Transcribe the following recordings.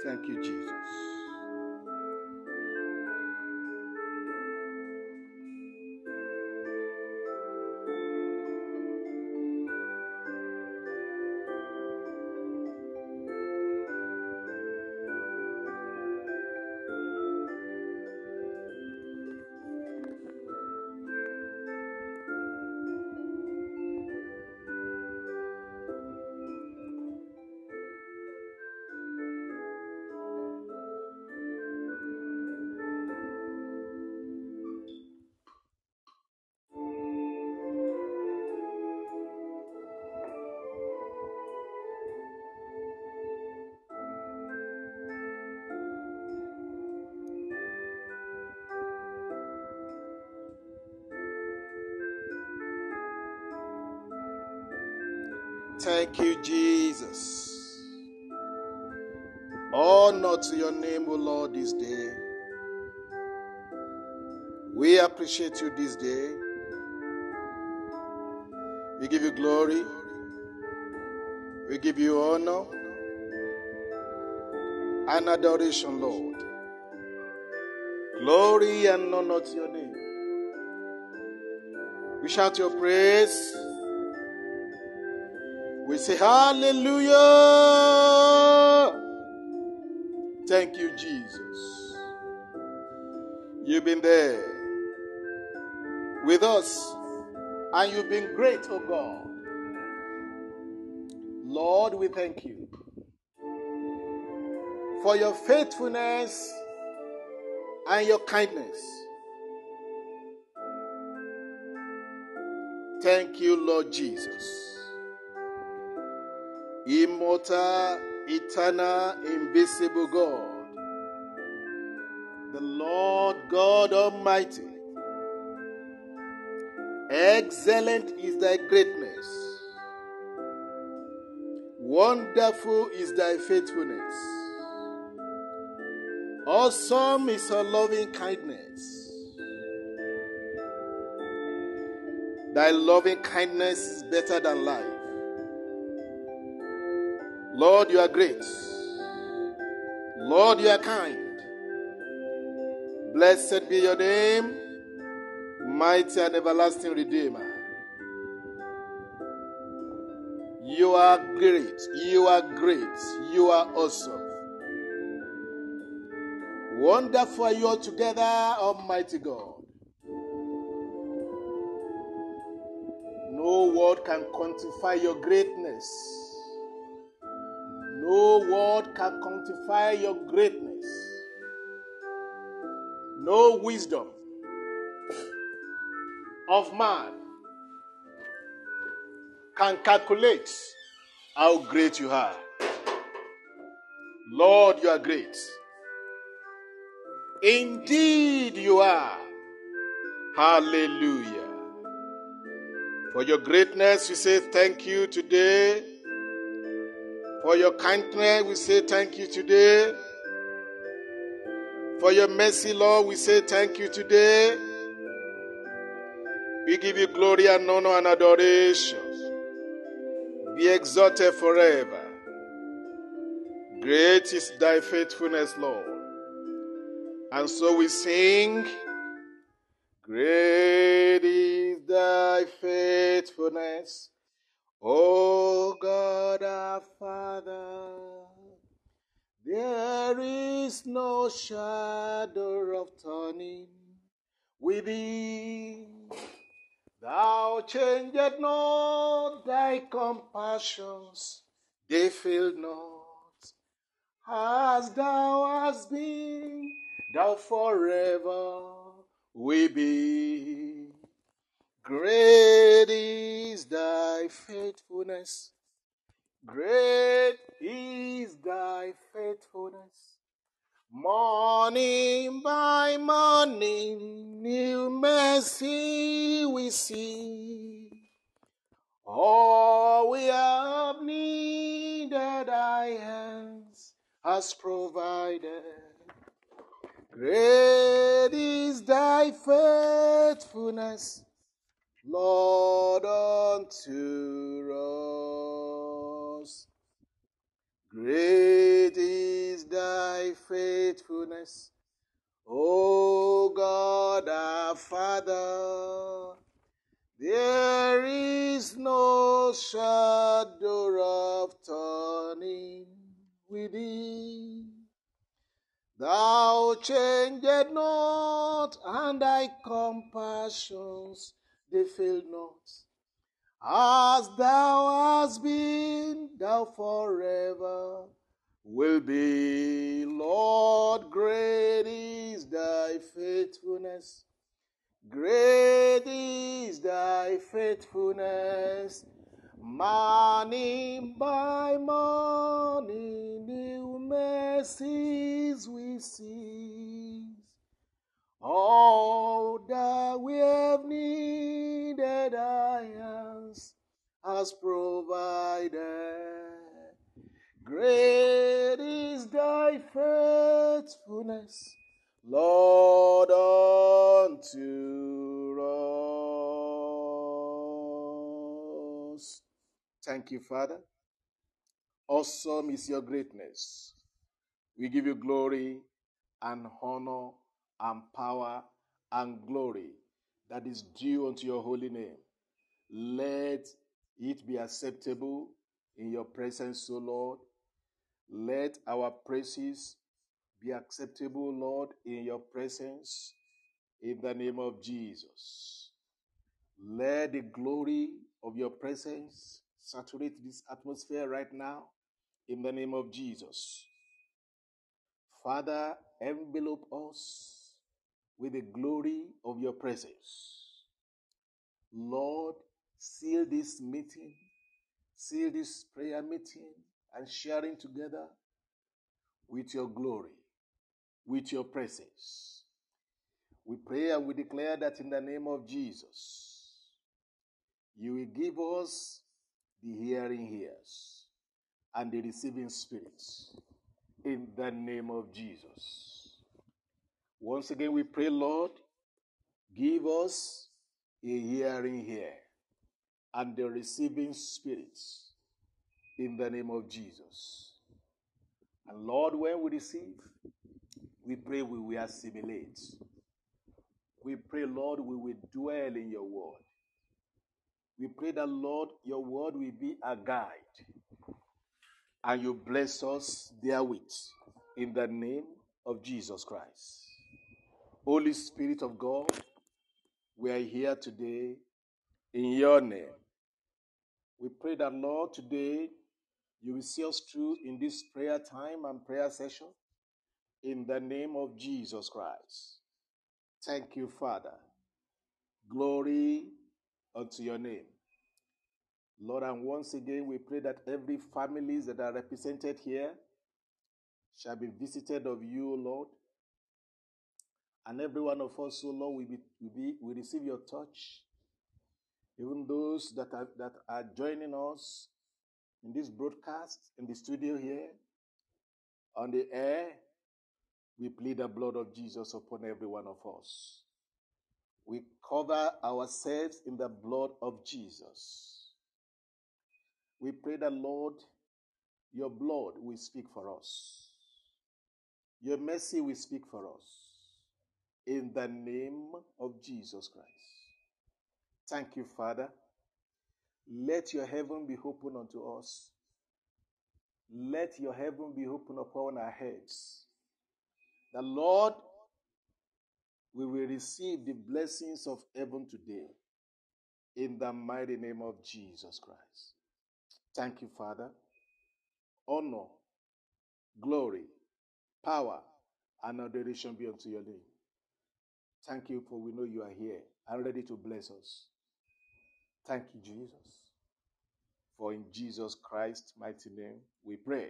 Thank you, Jesus. Thank you, Jesus. Honor to your name, O Lord, this day. We appreciate you this day. We give you glory. We give you honor and adoration, Lord. Glory and honor to your name. We shout your praise. We say hallelujah. Thank you, Jesus. You've been there with us, and you've been great, oh God. Lord, we thank you for your faithfulness and your kindness. Thank you, Lord Jesus. Immortal, eternal, invisible God, the Lord God Almighty. Excellent is thy greatness. Wonderful is thy faithfulness. Awesome is her loving kindness. Thy loving kindness is better than life. Lord, you are great. Lord, you are kind. Blessed be your name, mighty and everlasting Redeemer. You are great. You are great. You are awesome. Wonderful are you altogether, Almighty God. No word can quantify your greatness. No word can quantify your greatness. No wisdom of man can calculate how great you are. Lord, you are great. Indeed you are. Hallelujah. For your greatness, we say thank you today. For your kindness, we say thank you today. For your mercy, Lord, we say thank you today. We give you glory and honor and adoration. Be exalted forever. Great is thy faithfulness, Lord. And so we sing, great is thy faithfulness, O God our Father. There is no shadow of turning with thee. Thou changest not, thy compassions, they fail not. As thou hast been, thou forever will be. Great is thy faithfulness. Great is thy faithfulness. Morning by morning, new mercy we see. All we have needed, thy hands has provided. Great is thy faithfulness, Lord, unto us. Great is thy faithfulness, O God our Father. There is no shadow of turning with thee. Thou changest not, and thy compassions they fail not. As thou hast been, thou forever will be. Lord, great is thy faithfulness. Great is thy faithfulness. Morning by morning, new mercies we see. All that we have needed, thy hands has provided. Great is thy faithfulness, Lord, unto us. Thank you, Father. Awesome is your greatness. We give you glory and honor and power and glory that is due unto your holy name. Let it be acceptable in your presence, O Lord. Let our praises be acceptable, Lord, in your presence, in the name of Jesus. Let the glory of your presence saturate this atmosphere right now, in the name of Jesus. Father, envelope us with the glory of your presence. Lord, seal this meeting, seal this prayer meeting and sharing together with your glory, with your presence. We pray and we declare that in the name of Jesus, you will give us the hearing ears and the receiving spirits in the name of Jesus. Once again, we pray, Lord, give us a hearing ear and the receiving spirits in the name of Jesus. And Lord, when we receive, we pray we will assimilate. We pray, Lord, we will dwell in your word. We pray that, Lord, your word will be a guide and you bless us therewith in the name of Jesus Christ. Holy Spirit of God, we are here today in your name. We pray that, Lord, today you will see us through in this prayer time and prayer session in the name of Jesus Christ. Thank you, Father. Glory unto your name. Lord, and once again, we pray that every families that are represented here shall be visited of you, Lord. And every one of us, oh Lord, will receive your touch. Even those that are joining us in this broadcast, in the studio here, on the air, we plead the blood of Jesus upon every one of us. We cover ourselves in the blood of Jesus. We pray that, Lord, your blood will speak for us. Your mercy will speak for us. In the name of Jesus Christ. Thank you, Father. Let your heaven be open unto us. Let your heaven be open upon our heads. The Lord, we will receive the blessings of heaven today. In the mighty name of Jesus Christ. Thank you, Father. Honor, glory, power, and adoration be unto your name. Thank you, for we know you are here and ready to bless us. Thank you, Jesus. For in Jesus Christ's mighty name we pray.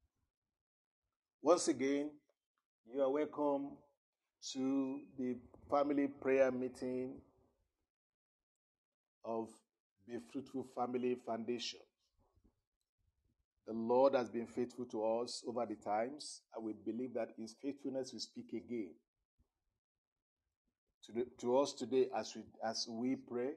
Once again, you are welcome to the family prayer meeting of Be Fruitful Family Foundation. The Lord has been faithful to us over the times, and we believe that his faithfulness will speak again to us today as we pray.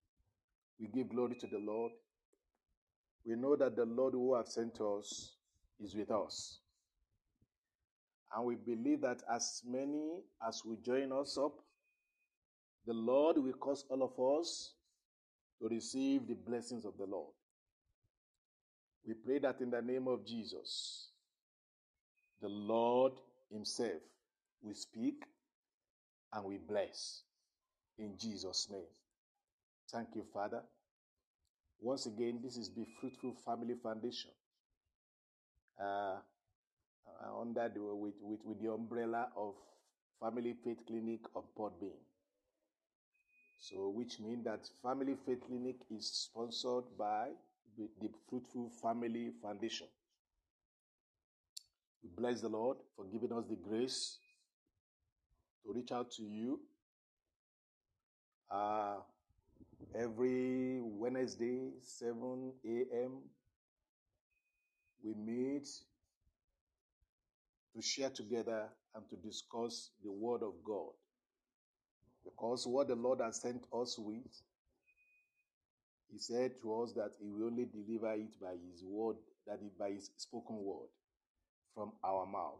We give glory to the Lord. We know that the Lord who has sent us is with us. And we believe that as many as will join us up, the Lord will cause all of us to receive the blessings of the Lord. We pray that in the name of Jesus, the Lord himself will speak and will bless in Jesus' name. Thank you, Father. Once again, this is the Fruitful Family Foundation under with the umbrella of Family Faith Clinic of Podbean. So, which means that Family Faith Clinic is sponsored by the Fruitful Family Foundation. We bless the Lord for giving us the grace to reach out to you every Wednesday, 7 a.m. We meet to share together and to discuss the Word of God. Because what the Lord has sent us with, he said to us that he will only deliver it by his word, that is by his spoken word from our mouth.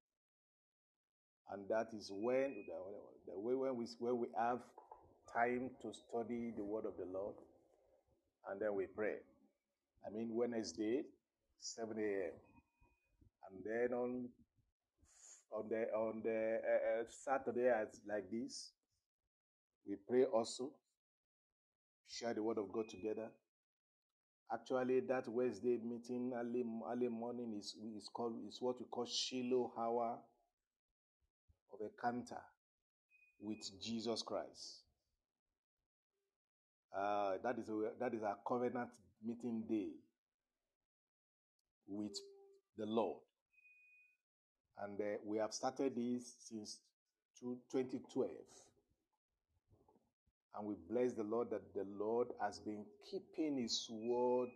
And that is when we have time to study the word of the Lord, and then we pray. I mean, Wednesday, 7 a.m. And then on the Saturday, like this, we pray also, share the word of God together. Actually, that Wednesday meeting early morning is what we call Shiloh hour of encounter with Jesus Christ. That is our covenant meeting day with the Lord, and we have started this since 2012. And we bless the Lord that the Lord has been keeping his word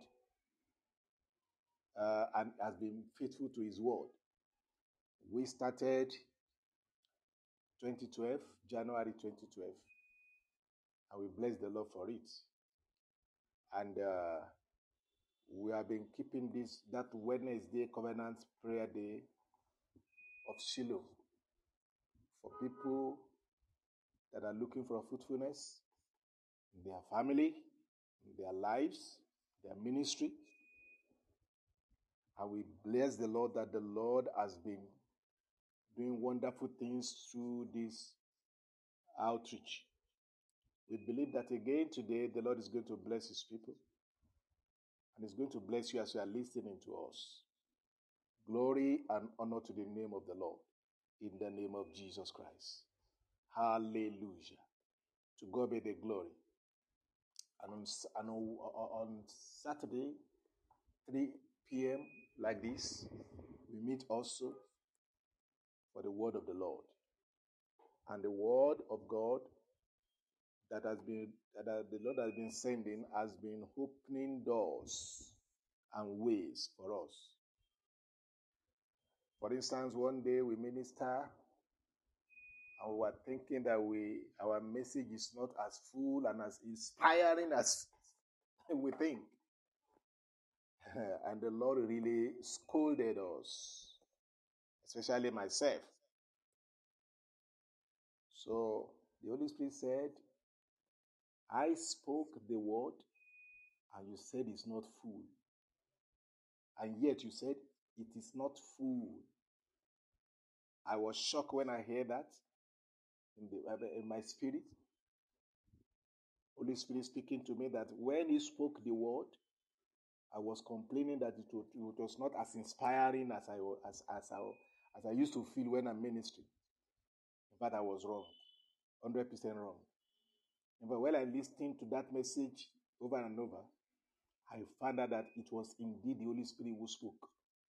and has been faithful to his word. We started 2012, January 2012, and we bless the Lord for it. And we have been keeping that Wednesday Covenant Prayer Day of Shiloh for people that are looking for fruitfulness in their family, in their lives, their ministry. And we bless the Lord that the Lord has been doing wonderful things through this outreach. We believe that again today the Lord is going to bless his people, and he's going to bless you as you are listening to us. Glory and honor to the name of the Lord, in the name of Jesus Christ. Hallelujah. To God be the glory. And on Saturday, 3 p.m. like this, we meet also for the word of the Lord. And the word of God that the Lord has been sending has been opening doors and ways for us. For instance, one day we minister and we were thinking that our message is not as full and as inspiring as we think. And the Lord really scolded us, especially myself. So the Holy Spirit said, I spoke the word and you said it's not full. And yet you said it is not full. I was shocked when I heard that in my spirit. Holy Spirit speaking to me that when he spoke the word, I was complaining that it was not as inspiring as I used to feel when I'm ministering. In fact, I was wrong, 100% wrong. But when I listened to that message over and over, I found out that it was indeed the Holy Spirit who spoke.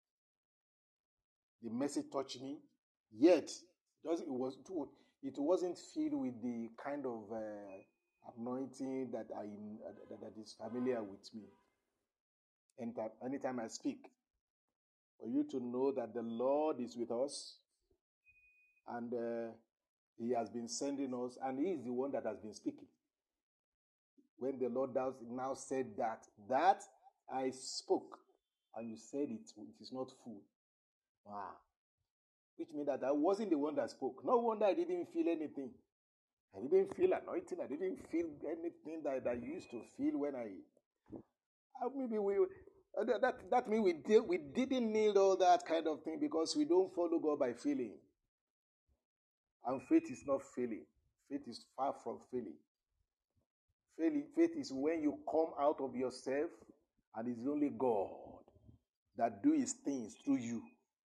The message touched me, yet it wasn't filled with the kind of anointing that is familiar with me. And anytime I speak, for you to know that the Lord is with us, and he has been sending us, and he is the one that has been speaking. When the Lord now said that I spoke, and you said it is not full. Wow. Which means that I wasn't the one that spoke. No wonder I didn't feel anything. I didn't feel anointing. I didn't feel anything that I used to feel when maybe that means we didn't need all that kind of thing because we don't follow God by feeling. And faith is not feeling. Faith is far from feeling. Faith is when you come out of yourself and it's only God that do his things through you.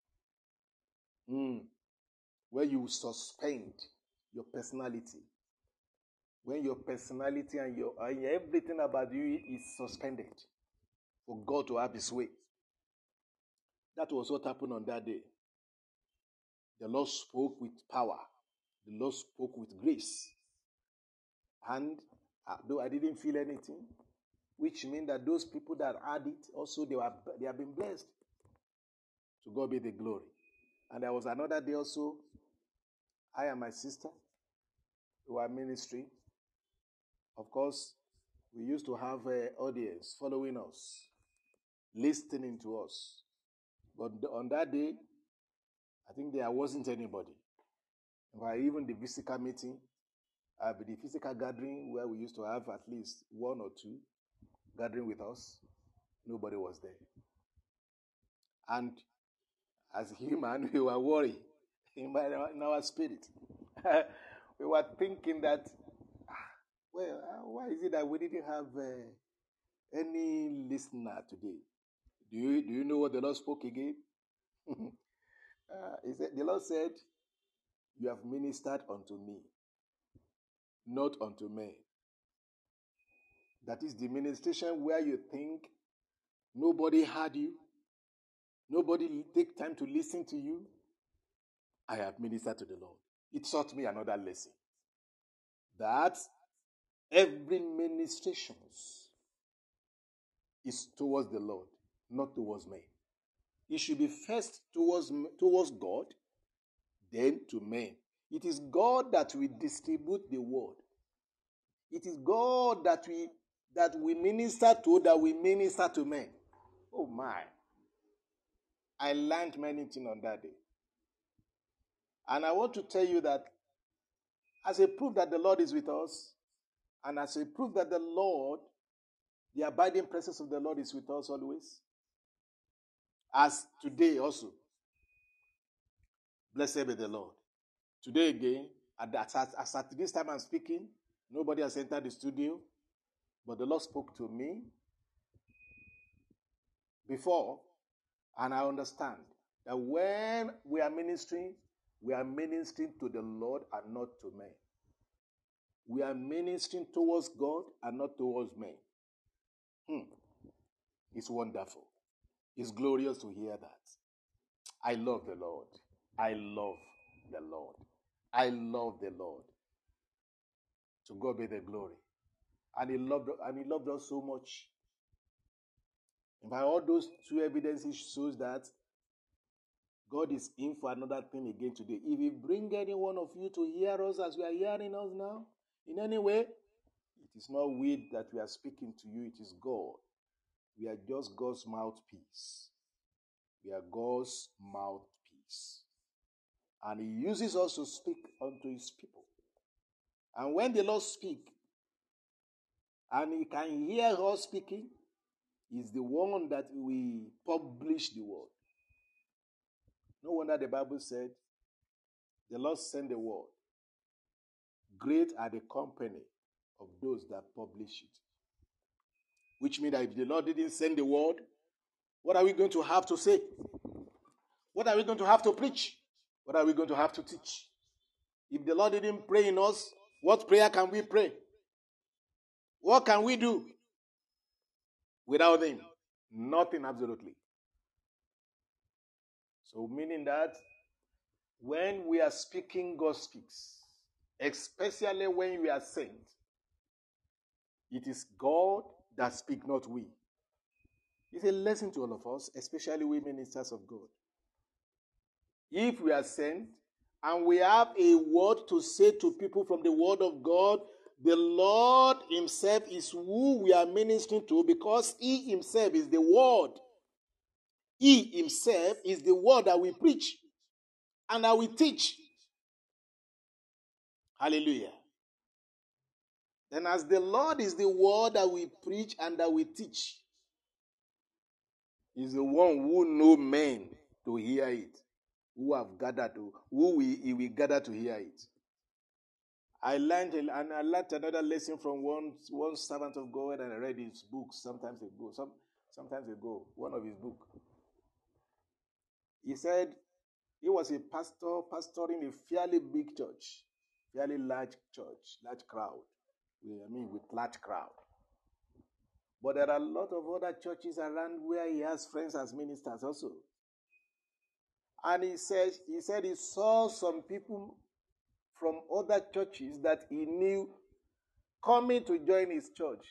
Where you suspend your personality. When your personality and everything about you is suspended for God to have his way. That was what happened on that day. The Lord spoke with power. The Lord spoke with grace. And though I didn't feel anything, which means that those people that had it also, they have been blessed. To God be the glory. And there was another day also, I and my sister, who were ministering. Of course, we used to have an audience following us, listening to us. But on that day, I think there wasn't anybody. Even the physical meeting, the physical gathering where we used to have at least one or two gathering with us, nobody was there. And as human, we were worried in our spirit. We were thinking that, why is it that we didn't have any listener today? Do you know what the Lord spoke again? The Lord said, "You have ministered unto me, not unto men." That is the ministration where you think nobody heard you, nobody take time to listen to you. I have ministered to the Lord. It taught me another lesson. That every ministration is towards the Lord, not towards men. It should be first towards God, then to men. It is God that will distribute the word. It is God that we minister to, that we minister to men. Oh my. I learned many things on that day. And I want to tell you that as a proof that the Lord is with us, and as a proof that the abiding presence of the Lord is with us always, as today also, blessed be the Lord. Today again, as at this time I'm speaking, nobody has entered the studio, but the Lord spoke to me before, and I understand that when we are ministering to the Lord and not to men. We are ministering towards God and not towards men. It's wonderful. It's glorious to hear that. I love the Lord. I love the Lord. I love the Lord. To God be the glory. And He loved us so much. And by all those two evidences shows that God is in for another thing again today. If He bring any one of you to hear us as we are hearing us now, in any way, it is not we that we are speaking to you, it is God. We are just God's mouthpiece. We are God's mouthpiece. And He uses us to speak unto His people. And when the Lord speaks, and He can hear us speaking, He's the one that we publish the word. No wonder the Bible said, the Lord sent the word. Great are the company of those that publish it. Which means that if the Lord didn't send the word, what are we going to have to say? What are we going to have to preach? What are we going to have to teach? If the Lord didn't pray in us, what prayer can we pray? What can we do without Him? Nothing, absolutely. So meaning that when we are speaking, God speaks. Especially when we are sent. It is God that speaks, not we. It's a lesson to all of us, especially we ministers of God. If we are sent and we have a word to say to people from the word of God, the Lord Himself is who we are ministering to because He Himself is the word. He himself is the word that we preach and that we teach. Hallelujah. Then as the Lord is the word that we preach and that we teach, is the one who know men to hear it, who have gathered to, he will gather to hear it. I learned another lesson from one servant of God, and I read his book sometimes ago, one of his books. He said he was a pastor pastoring a fairly big church, fairly large church, large crowd. With large crowd. But there are a lot of other churches around where he has friends as ministers also. And he said he saw some people from other churches that he knew coming to join his church.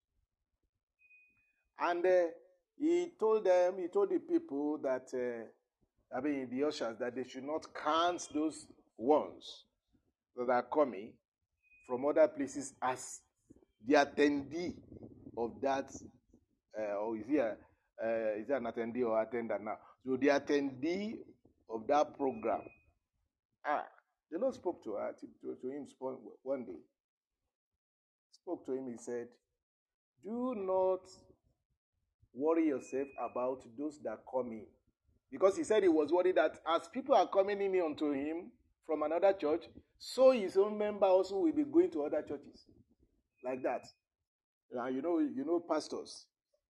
And he told the people that, the ushers, that they should not count those ones that are coming from other places as the attendee of that, or is he an attendee or attendant now? So the attendee of that program. The Lord spoke to him one day. Spoke to him, he said, do not worry yourself about those that come in. Because he said he was worried that as people are coming in unto him from another church, so his own member also will be going to other churches. Like that. You know pastors.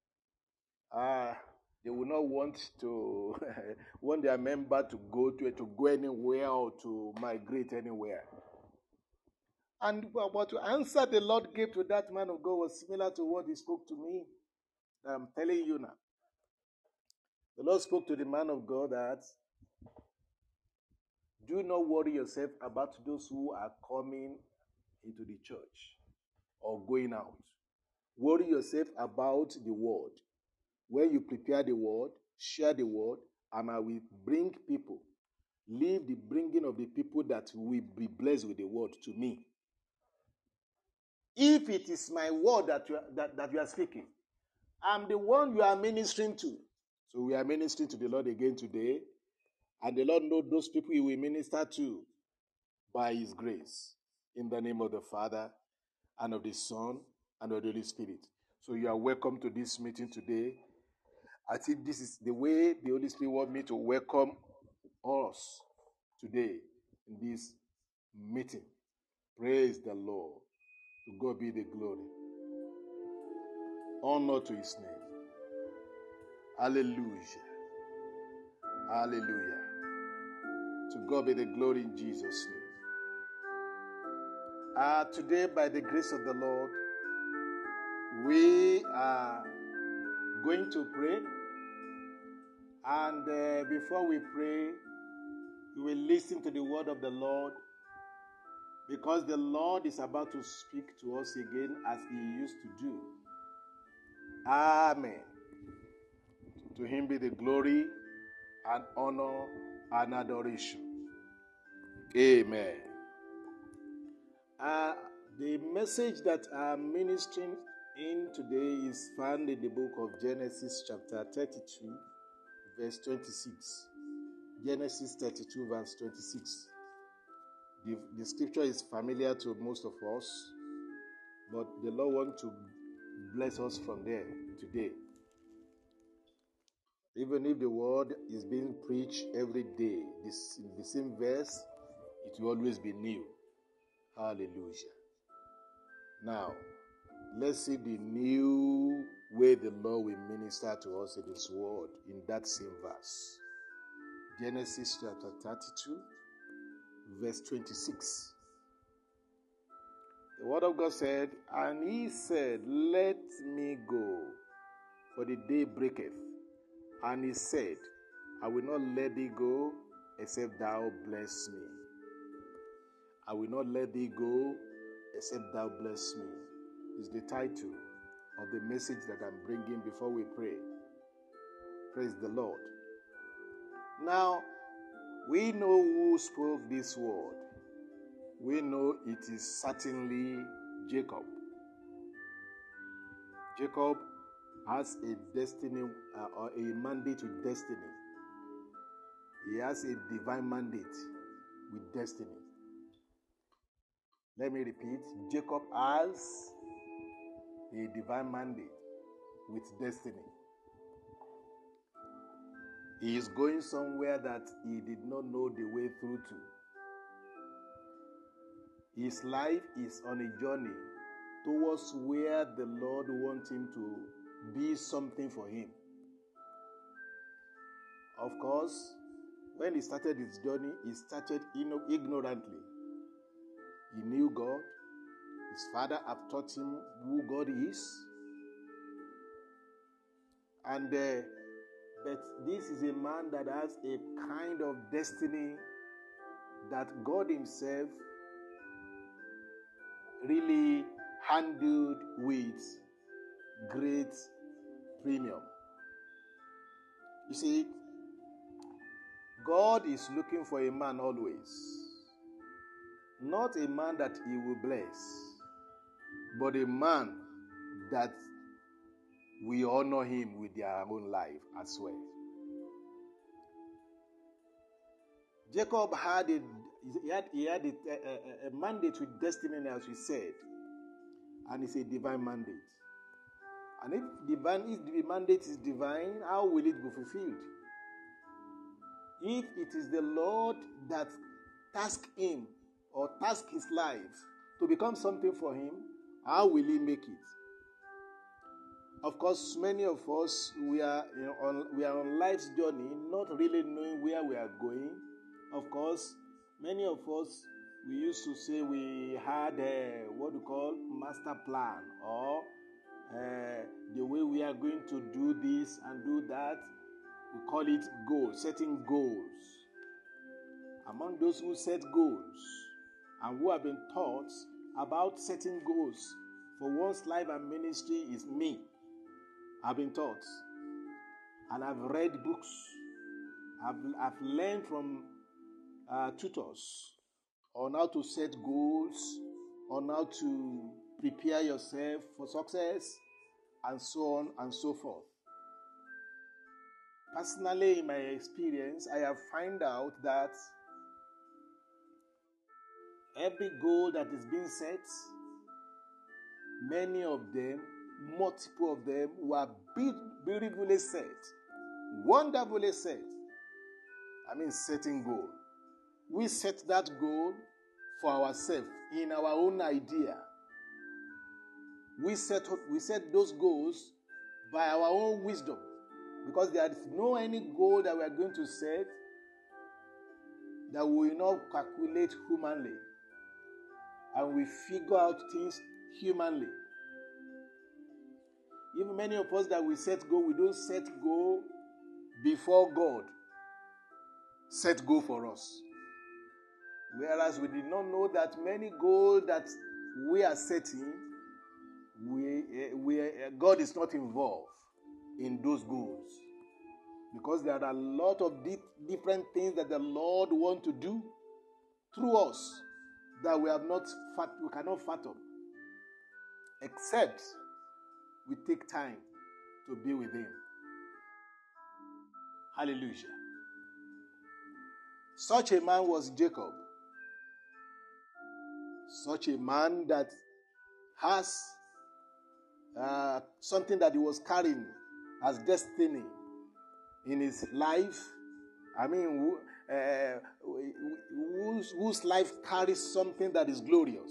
They will not want to want their member to go anywhere or to migrate anywhere. And but the answer the Lord gave to that man of God was similar to what he spoke to me. I'm telling you now. The Lord spoke to the man of God that do not worry yourself about those who are coming into the church or going out. Worry yourself about the word. When you prepare the word, share the word, and I will bring people. Leave the bringing of the people that will be blessed with the word to me. If it is my word that you are speaking, I'm the one you are ministering to. So we are ministering to the Lord again today. And the Lord knows those people he will minister to by his grace. In the name of the Father, and of the Son, and of the Holy Spirit. So you are welcome to this meeting today. I think this is the way the Holy Spirit wants me to welcome us today in this meeting. Praise the Lord. To God be the glory. Honor to his name. Hallelujah. Hallelujah. To God be the glory in Jesus' name. Today, by the grace of the Lord, we are going to pray. And before we pray, we will listen to the word of the Lord, because the Lord is about to speak to us again as he used to do. Amen. To him be the glory and honor and adoration. Amen. The message that I'm ministering in today is found in the book of Genesis chapter 32, verse 26. Genesis 32, verse 26. The scripture is familiar to most of us, but the Lord wants to bless us from there today. Even if the word is being preached every day, the same verse, it will always be new. Hallelujah. Now, let's see the new way the Lord will minister to us in his word in that same verse. Genesis chapter 32, verse 26. The word of God said, and he said, let me go, for the day breaketh. And he said, I will not let thee go, except thou bless me. I will not let thee go, except thou bless me. Is the title of the message that I'm bringing before we pray. Praise the Lord. Now, we know who spoke this word. We know it is certainly Jacob. Jacob has a destiny or a mandate with destiny. He has a divine mandate with destiny. Let me repeat. Jacob has a divine mandate with destiny. He is going somewhere that he did not know the way through to. His life is on a journey towards where the Lord wants him to be something for him. Of course, when he started his journey, he started ignorantly. He knew God. His father had taught him who God is. And but this is a man that has a kind of destiny that God himself really handled with great premium. You see, God is looking for a man always. Not a man that he will bless, but a man that we honor him with their own life as well. Jacob had a mandate with destiny, as we said, and it's a divine mandate. And if the mandate is divine, how will it be fulfilled? If it is the Lord that tasked him or tasked his life to become something for him, how will he make it? Of course, many of us, we are on life's journey, not really knowing where we are going. Of course, many of us, we used to say we had what we call master plan, or the way we are going to do this and do that. We call it goals, setting goals. Among those who set goals and who have been taught about setting goals for one's life and ministry is me. I've been taught, and I've read books. I've learned from tutors on how to set goals, on how to prepare yourself for success, and so on and so forth. Personally, in my experience, I have found out that every goal that is being set, many of them, multiple of them, were beautifully set, wonderfully set. I mean, setting goal. We set that goal for ourselves in our own idea. We set those goals by our own wisdom, because there is no any goal that we are going to set that we will not calculate humanly, and we figure out things humanly. Even many of us that we set goal, we don't set goal before God set goal for us. Whereas we did not know that many goals that we are setting, God is not involved in those goals. Because there are a lot of different things that the Lord wants to do through us that we cannot fathom, except we take time to be with him. Hallelujah. Such a man was Jacob. Such a man that has something that he was carrying as destiny in his life. I mean, whose life carries something that is glorious.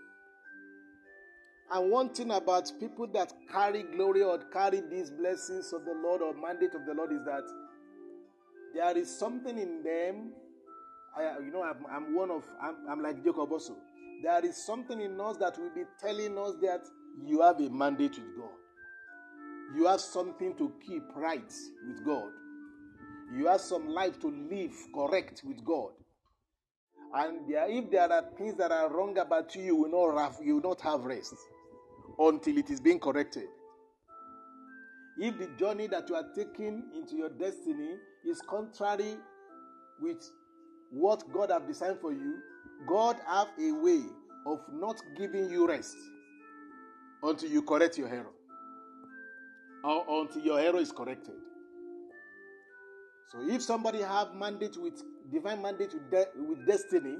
And one thing about people that carry glory or carry these blessings of the Lord or mandate of the Lord is that there is something in them. I'm like Jacob also. There is something in us that will be telling us that you have a mandate with God. You have something to keep right with God. You have some life to live correct with God. And if there are things that are wrong about you, you will not have rest until it is being corrected. If the journey that you are taking into your destiny is contrary with what God has designed for you, God have a way of not giving you rest until you correct your error. or until your error is corrected. So if somebody have mandate with divine mandate with destiny,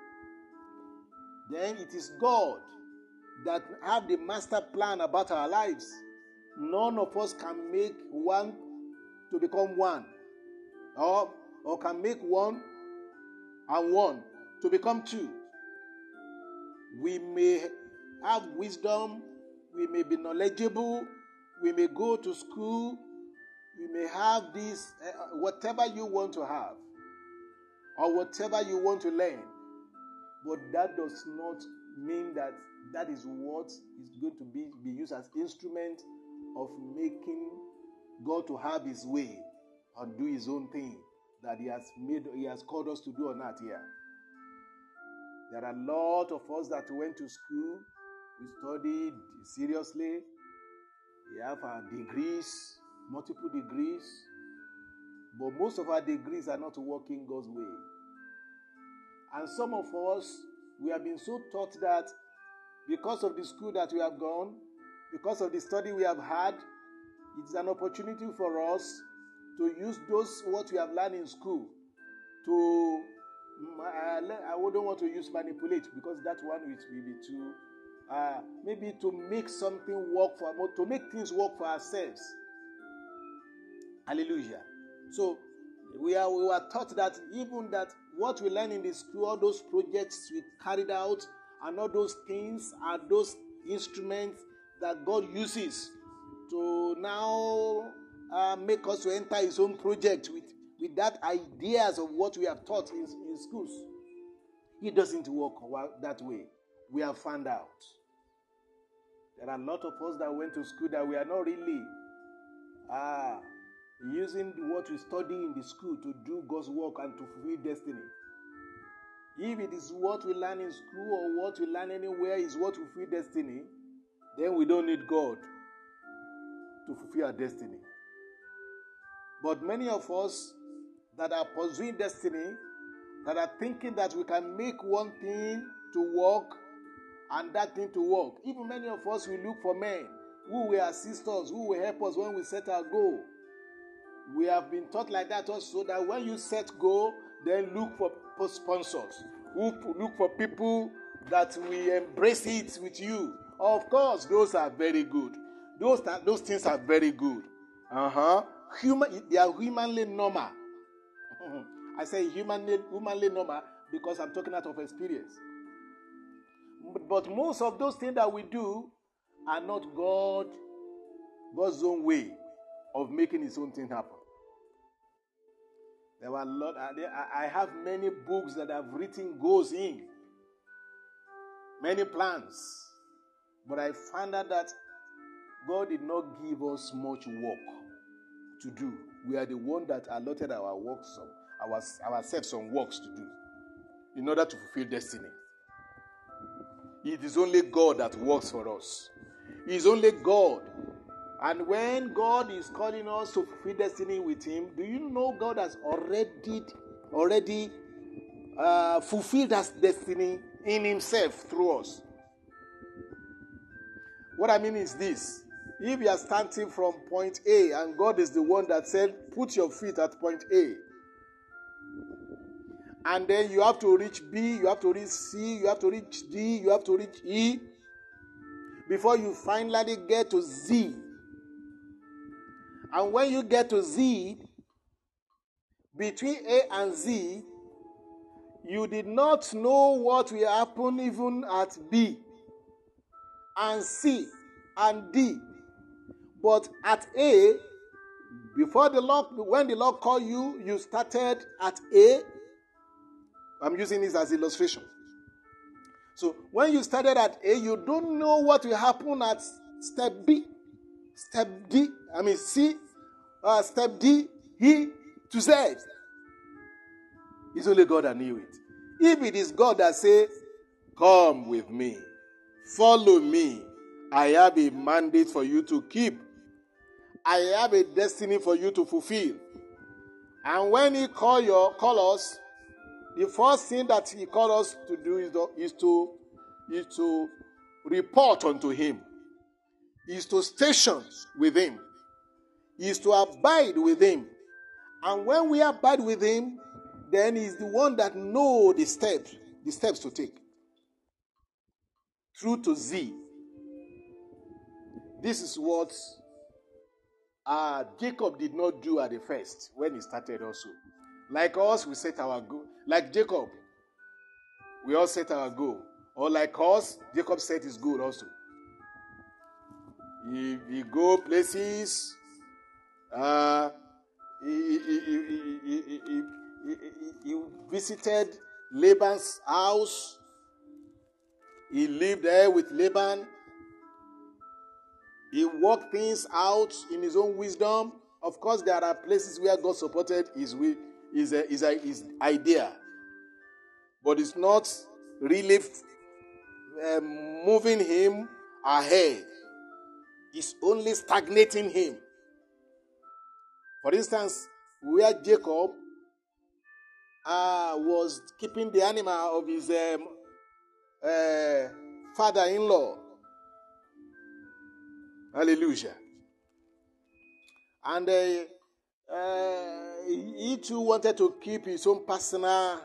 then it is God that have the master plan about our lives. None of us can make one to become one, or can make one and one to become two. We may have wisdom, we may be knowledgeable, we may go to school, we may have this, whatever you want to have, or whatever you want to learn. But that does not mean that that is what is going to be used as instrument of making God to have his way or do his own thing that he has called us to do on earth here. There are a lot of us that went to school, we studied seriously, we have our degrees, multiple degrees, but most of our degrees are not working God's way. And some of us, we have been so taught that because of the school that we have gone, because of the study we have had, it's an opportunity for us to use what we have learned in school to, I wouldn't want to use manipulate, because that one will be too, maybe to make something work to make things work for ourselves. Hallelujah. So we were taught that even that what we learn in the school, all those projects we carried out, and all those things are those instruments that God uses to now make us to enter his own project with that ideas of what we have taught in schools. It doesn't work that way. We have found out. There are a lot of us that went to school that we are not really using what we study in the school to do God's work and to fulfill destiny. If it is what we learn in school or what we learn anywhere is what will fulfill destiny, then we don't need God to fulfill our destiny. But many of us that are pursuing destiny, that are thinking that we can make one thing to work and that thing to work. Even many of us will look for men who will assist us, who will help us when we set our goal. We have been taught like that also, that when you set goal, then look for sponsors. Look for people that will embrace it with you. Of course, those are very good. Those things are very good. They are humanly normal. I say humanly normal because I'm talking out of experience. But most of those things that we do are not God's own way of making his own thing happen. There were a lot. I have many books that I've written goals in, many plans. But I found out that God did not give us much work to do. We are the one that allotted ourselves some works to do in order to fulfill destiny. It is only God that works for us. It is only God. And when God is calling us to fulfill destiny with him, do you know God has already fulfilled that destiny in himself through us? What I mean is this. If you are starting from point A and God is the one that said, put your feet at point A, and then you have to reach B, you have to reach C, you have to reach D, you have to reach E, before you finally get to Z. And when you get to Z, between A and Z, you did not know what will happen even at B and C and D. But at A, when the Lord called you, you started at A. I'm using this as illustration. So when you started at A, you don't know what will happen at step B, step D, C, step D, E to Z. It's only God that knew it. If it is God that says, come with me, follow me, I have a mandate for you to keep. I have a destiny for you to fulfill. And when he call us, the first thing that he called us to do is to report unto him, is to station with him. is to abide with him. And when we abide with him, then he's the one that knows the steps to take. Through to Z. This is what Jacob did not do at the first when he started also. Like us, we set our goal. Like Jacob, we all set our goal. Or like us, Jacob set his goal also. He go places. He visited Laban's house. He lived there with Laban. He worked things out in his own wisdom. Of course, there are places where God supported his idea. But it's not really moving him ahead. It's only stagnating him. For instance, where Jacob was keeping the animal of his father-in-law. Hallelujah. And he too wanted to keep his own personal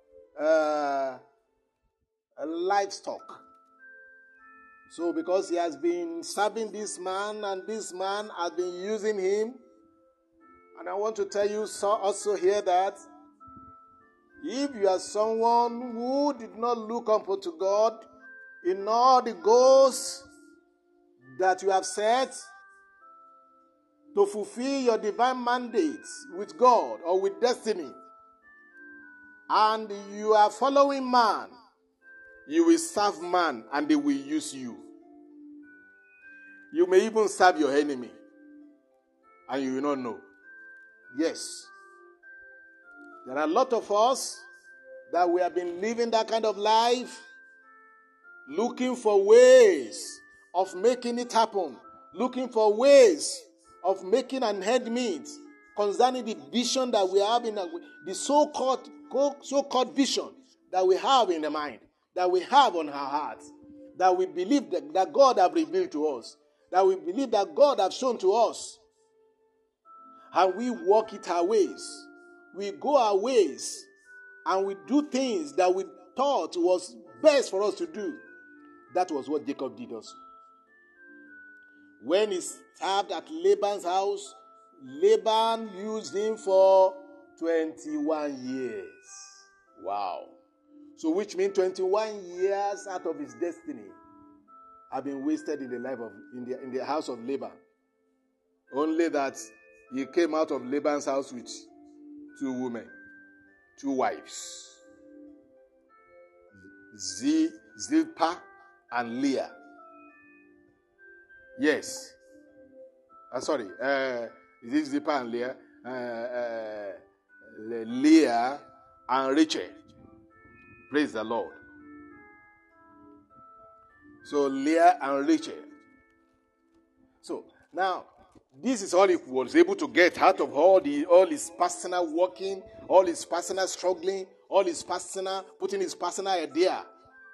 livestock. So because he has been serving this man and this man has been using him, and I want to tell you also here that if you are someone who did not look up to God in all the goals that you have set to fulfill your divine mandate with God or with destiny, and you are following man, you will serve man and they will use you. You may even serve your enemy and you will not know. Yes. There are a lot of us that we have been living that kind of life, looking for ways of making it happen, looking for ways of making an end meet concerning the vision that we have in the so-called vision that we have in the mind, that we have on our hearts, that we believe that God has revealed to us, that we believe that God has shown to us, and we walk it our ways. We go our ways and we do things that we thought was best for us to do. That was what Jacob did also. When he served at Laban's house, Laban used him for 21 years. Wow. So which means 21 years out of his destiny have been wasted in the life of in the house of Laban. Only that he came out of Laban's house with 2 women, 2 wives, Zilpah and Leah. Yes. Sorry. Is it Zilpah and Leah? Leah and Rachel. Praise the Lord. So Leah and Rachel. So now, this is all he was able to get out of all his personal working, all his personal struggling, all his personal, putting his personal idea.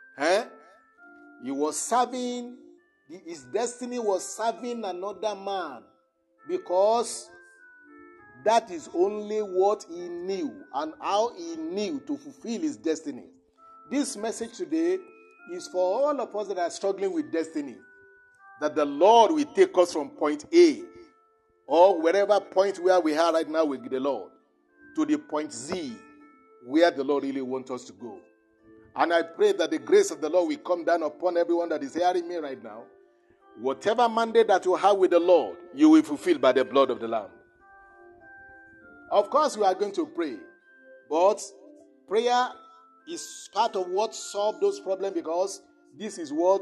He was serving, his destiny was serving another man because that is only what he knew and how he knew to fulfill his destiny. This message today is for all of us that are struggling with destiny, that the Lord will take us from point A or wherever point where we are right now with the Lord to the point Z where the Lord really wants us to go. And I pray that the grace of the Lord will come down upon everyone that is hearing me right now. Whatever mandate that you have with the Lord, you will fulfill by the blood of the Lamb. Of course, we are going to pray, but prayer is part of what solves those problems because this is what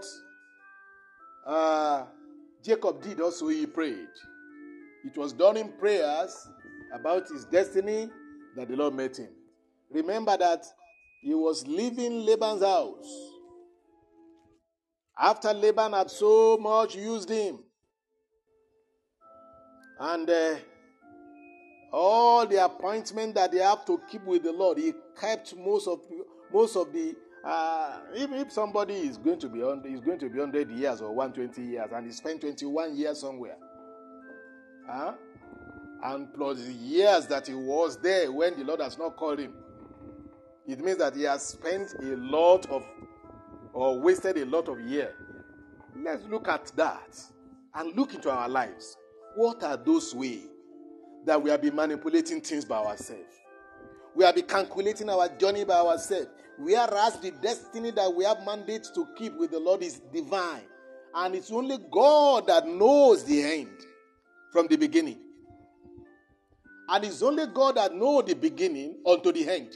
Jacob did also. He prayed. It was during prayers about his destiny that the Lord met him. Remember that he was leaving Laban's house after Laban had so much used him. And all the appointment that they have to keep with the Lord, he kept most of the. If somebody is going to be 100 years or 120 years, and he spent 21 years somewhere, and plus the years that he was there when the Lord has not called him, it means that he has spent a lot of, or wasted a lot of years. Let's look at that and look into our lives. What are those ways that we have been manipulating things by ourselves? We have been calculating our journey by ourselves. Whereas the destiny that we have mandate to keep with the Lord is divine. And it's only God that knows the end from the beginning. And it's only God that knows the beginning unto the end.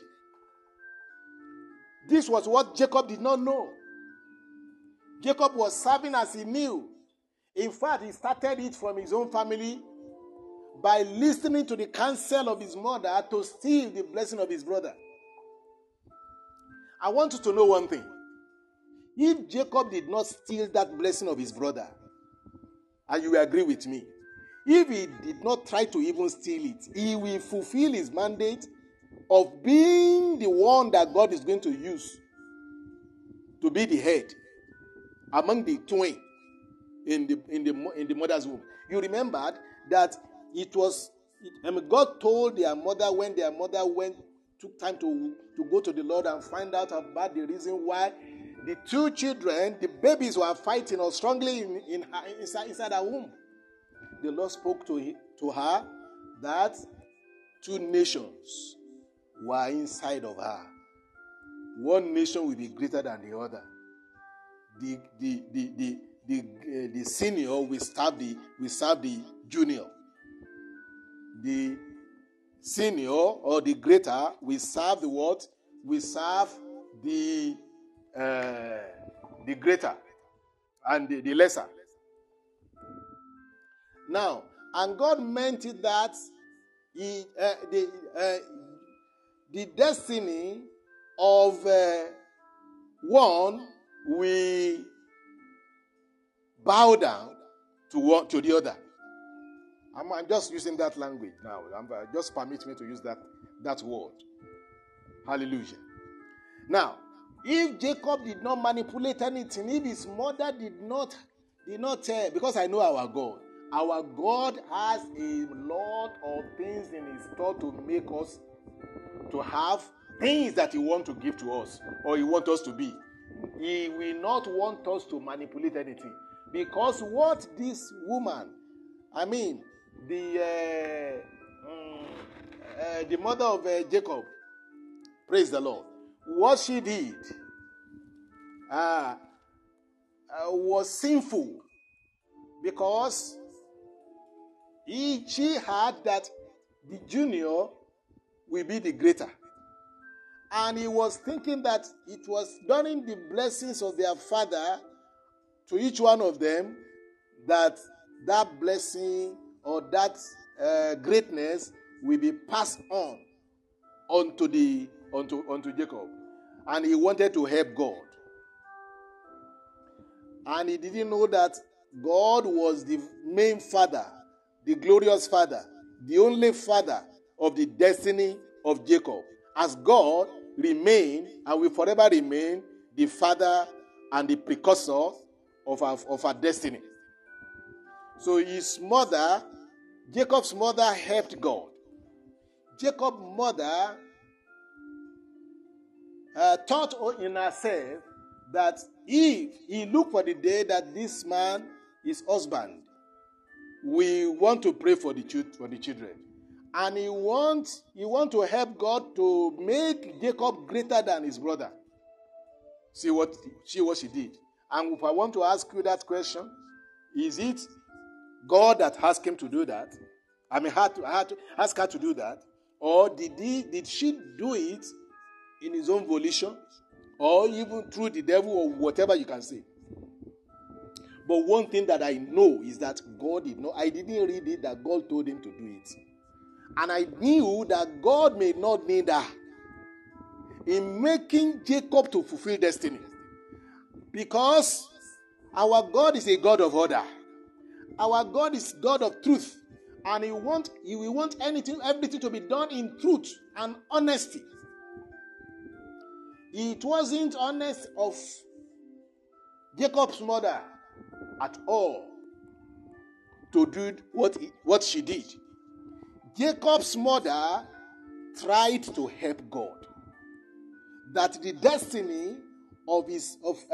This was what Jacob did not know. Jacob was serving as he knew. In fact, he started it from his own family by listening to the counsel of his mother to steal the blessing of his brother. I want you to know one thing. If Jacob did not steal that blessing of his brother, and you will agree with me, if he did not try to even steal it, he will fulfill his mandate of being the one that God is going to use to be the head among the twain in the mother's womb. You remembered that it was, God told their mother when their mother took time to go to the Lord and find out about the reason why the two children, the babies, were fighting or strongly inside her womb. The Lord spoke to her that two nations were inside of her. One nation will be greater than the other. The senior will serve the junior. The senior or the greater will serve the what? Will serve the greater and the lesser. Now, and God meant it that the destiny of one will bow down to the other. I'm just using that language now. Just permit me to use that word. Hallelujah. Now, if Jacob did not manipulate anything, if his mother did not because I know our God has a lot of things in his store to make us to have things that he wants to give to us or he wants us to be. He will not want us to manipulate anything. Because what this woman, the mother of Jacob, praise the Lord, what she did was sinful, because she had that the junior will be the greater. And he was thinking that it was during the blessings of their father to each one of them that blessing or that greatness will be passed on unto Jacob. And he wanted to help God. And he didn't know that God was the main father, the glorious father, the only father of the destiny of Jacob. As God remained and will forever remain the father and the precursor of our destiny. So his mother, Jacob's mother, helped God. Jacob's mother thought in herself that if he looked for the day that this man, his husband, will want to pray for the children, and he want to help God to make Jacob greater than his brother. See what she did. And if I want to ask you that question, is it God that asked him to do that? I had to ask her to do that, or did she do it in his own volition, or even through the devil, or whatever you can say? But one thing that I know is that God did not. I didn't read it that God told him to do it. And I knew that God may not need her in making Jacob to fulfill destiny. Because our God is a God of order. Our God is God of truth. And He will want everything to be done in truth and honesty. It wasn't honest of Jacob's mother at all to do what she did. Jacob's mother tried to help God. That the destiny of his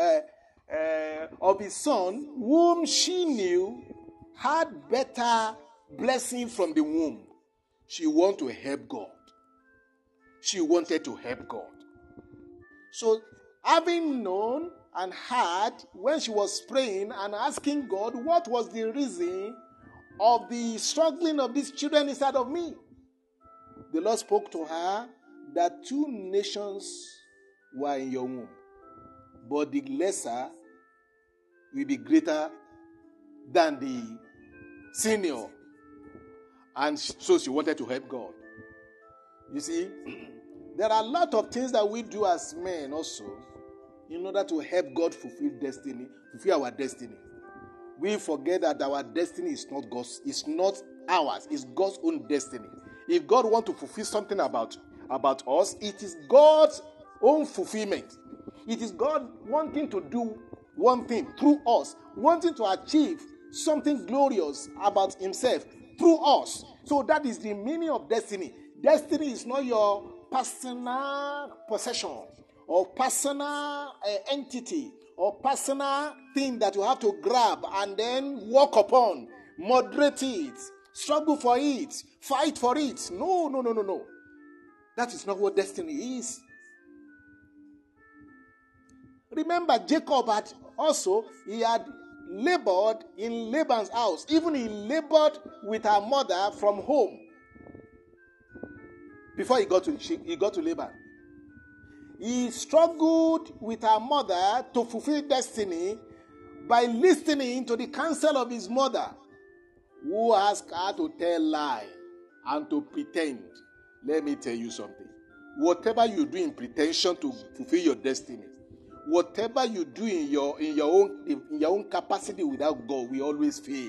son, whom she knew had better blessing from the womb, she wanted to help God. She wanted to help God. So, having known and heard when she was praying and asking God what was the reason of the struggling of these children inside of me, the Lord spoke to her that 2 nations were in your womb, but the lesser will be greater than the senior. And so she wanted to help God. You see, there are a lot of things that we do as men also in order to help God fulfill our destiny. We forget that our destiny is not God's, it's not ours, it's God's own destiny. If God wants to fulfill something about us, it is God's own fulfillment. It is God wanting to do one thing through us, wanting to achieve something glorious about himself through us. So that is the meaning of destiny. Destiny is not your personal possession or personal entity or personal thing that you have to grab and then walk upon, moderate it, struggle for it, fight for it. No. That is not what destiny is. Remember, Jacob had labored in Laban's house. Even he labored with her mother from home before he got to Laban. He struggled with her mother to fulfill destiny by listening to the counsel of his mother, who asked her to tell lie and to pretend. Let me tell you something. Whatever you do in pretension to fulfill your destiny, whatever you do in your own capacity without God, will always fail.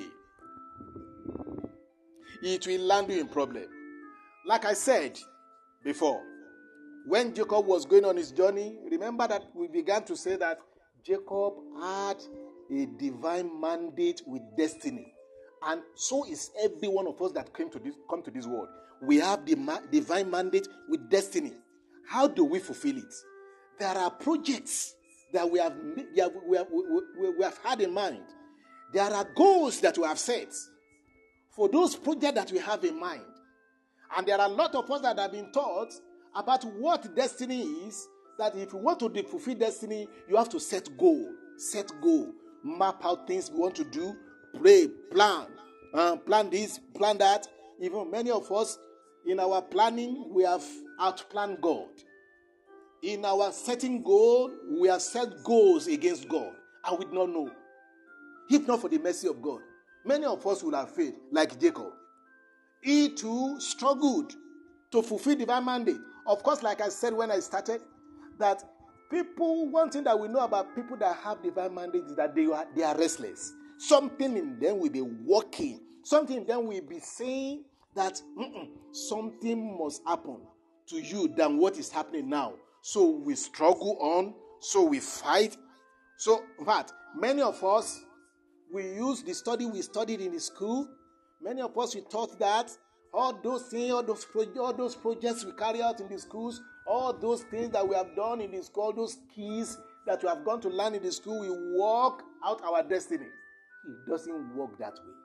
It will land you in problem. Like I said before, when Jacob was going on his journey, remember that we began to say that Jacob had a divine mandate with destiny. And so is every one of us that come to this world. We have the divine mandate with destiny. How do we fulfill it? There are projects that we have had in mind. There are goals that we have set for those projects that we have in mind. And there are a lot of us that have been taught about what destiny is, that if you want to fulfill destiny, you have to set goal, map out things you want to do, pray, plan this, plan that. Even many of us, in our planning, we have outplanned God. In our setting goal, we have set goals against God, and we do not know. If not for the mercy of God, many of us would have failed, like Jacob. He too struggled to fulfill divine mandate. Of course, like I said when I started, that one thing that we know about people that have divine mandate is that they are restless. Something in them will be working. Something in them will be saying that something must happen to you than what is happening now. So we struggle on, so we fight. So, in fact, many of us, we use the study we studied in the school. Many of us, we thought that all those things, all those projects we carry out in the schools, all those things that we have done in the school, all those keys that we have gone to learn in the school, we work out our destiny. It doesn't work that way.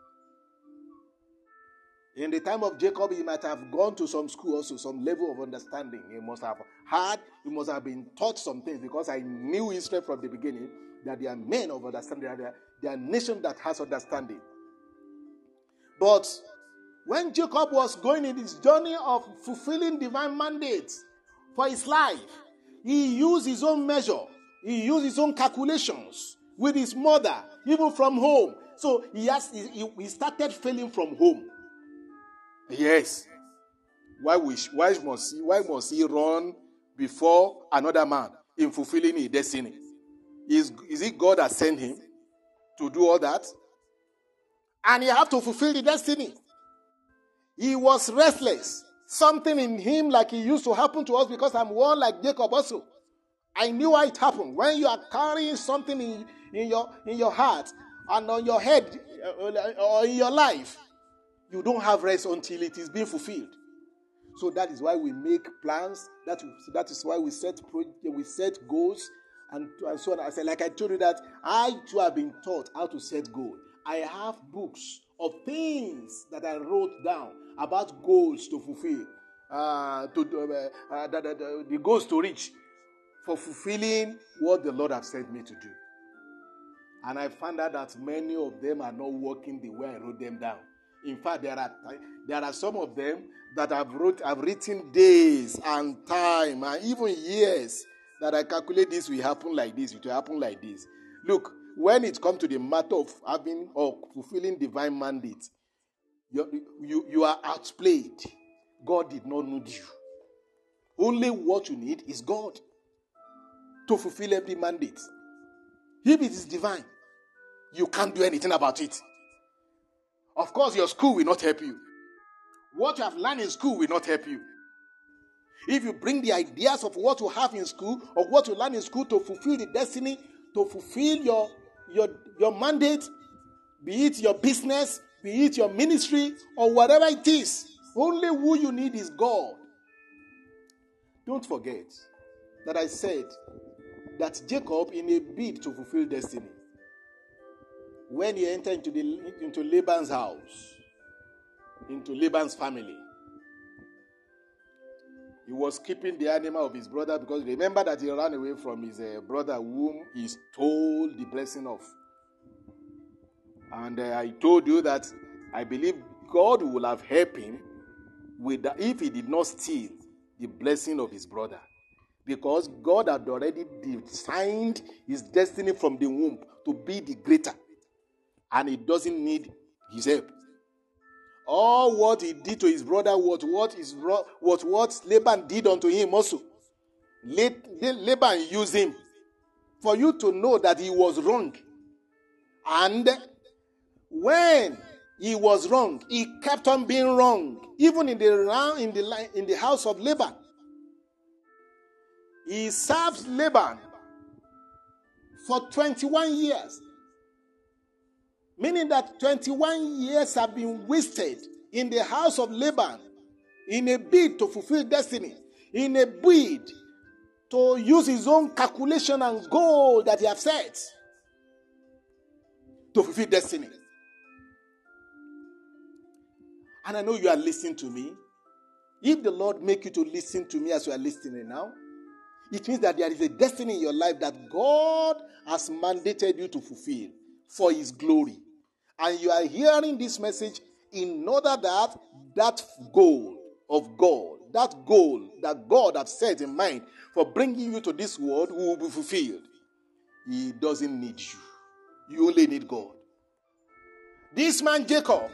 In the time of Jacob, he might have gone to some school also, some level of understanding. He must have been taught some things, because I knew Israel from the beginning that they are men of understanding, they are a nation that has understanding. But when Jacob was going in his journey of fulfilling divine mandates for his life, he used his own measure. He used his own calculations with his mother, even from home. So he started failing from home. Yes. Why must he run before another man in fulfilling his destiny? Is it God that sent him to do all that? And he had to fulfill the destiny. He was restless. Something in him, like it used to happen to us, because I'm one like Jacob also. I knew how it happened. When you are carrying something in your heart and on your head or in your life, You don't have rest until it is being fulfilled. So that is why we make plans. That is why we set goals, and so on. I said, like I told you that I too have been taught how to set goals. I have books of things that I wrote down about goals to fulfill, the goals to reach for fulfilling what the Lord has sent me to do. And I found out that many of them are not working the way I wrote them down. In fact, there are some of them that I've written days and time and even years that I calculate this will happen like this, it will happen like this. Look, when it comes to the matter of having or fulfilling divine mandate, you are outplayed. God did not need you. Only what you need is God to fulfill every mandate. If it is divine, you can't do anything about it. Of course, your school will not help you. What you have learned in school will not help you. If you bring the ideas of what you have in school or what you learn in school to fulfill the destiny, to fulfill your mandate, be it your business, be it your ministry, or whatever it is, only who you need is God. Don't forget that I said that Jacob, in a bid to fulfill destiny, when he entered into Laban's house, into Laban's family, he was keeping the animal of his brother, because remember that he ran away from his brother whom he stole the blessing of. And I told you that I believe God would have helped him with that if he did not steal the blessing of his brother, because God had already designed his destiny from the womb to be the greater, and he doesn't need his help. All what he did to his brother was what Laban did unto him also. Laban used him for you to know that he was wrong. And when he was wrong, he kept on being wrong, even in the house of Laban. He served Laban for 21 years. Meaning that 21 years have been wasted in the house of Laban in a bid to fulfill destiny, in a bid to use his own calculation and goal that he has set to fulfill destiny. And I know you are listening to me. If the Lord make you to listen to me as you are listening now, it means that there is a destiny in your life that God has mandated you to fulfill for his glory. And you are hearing this message in order that that goal of God, that goal that God has set in mind for bringing you to this world will be fulfilled. He doesn't need you. You only need God. This man Jacob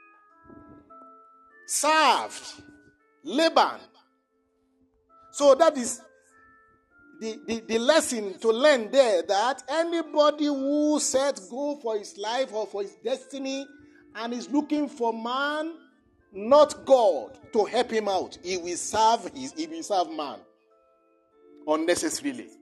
served Laban. So that is the lesson to learn there, that anybody who sets goal for his life or for his destiny and is looking for man, not God, to help him out, he will serve man unnecessarily.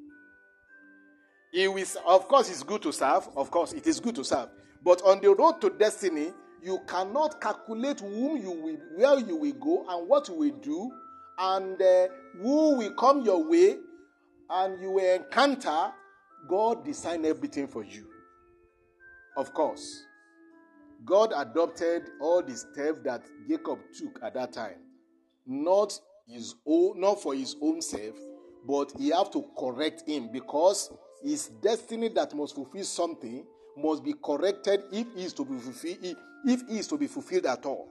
Of course, it's good to serve. Of course, it is good to serve. But on the road to destiny, you cannot calculate where you will go and what you will do, and who will come your way, and you will encounter. God designed everything for you. Of course, God adopted all the steps that Jacob took at that time, not for his own self, but he had to correct him, because his destiny that must fulfill something must be corrected if he is to be fulfilled at all.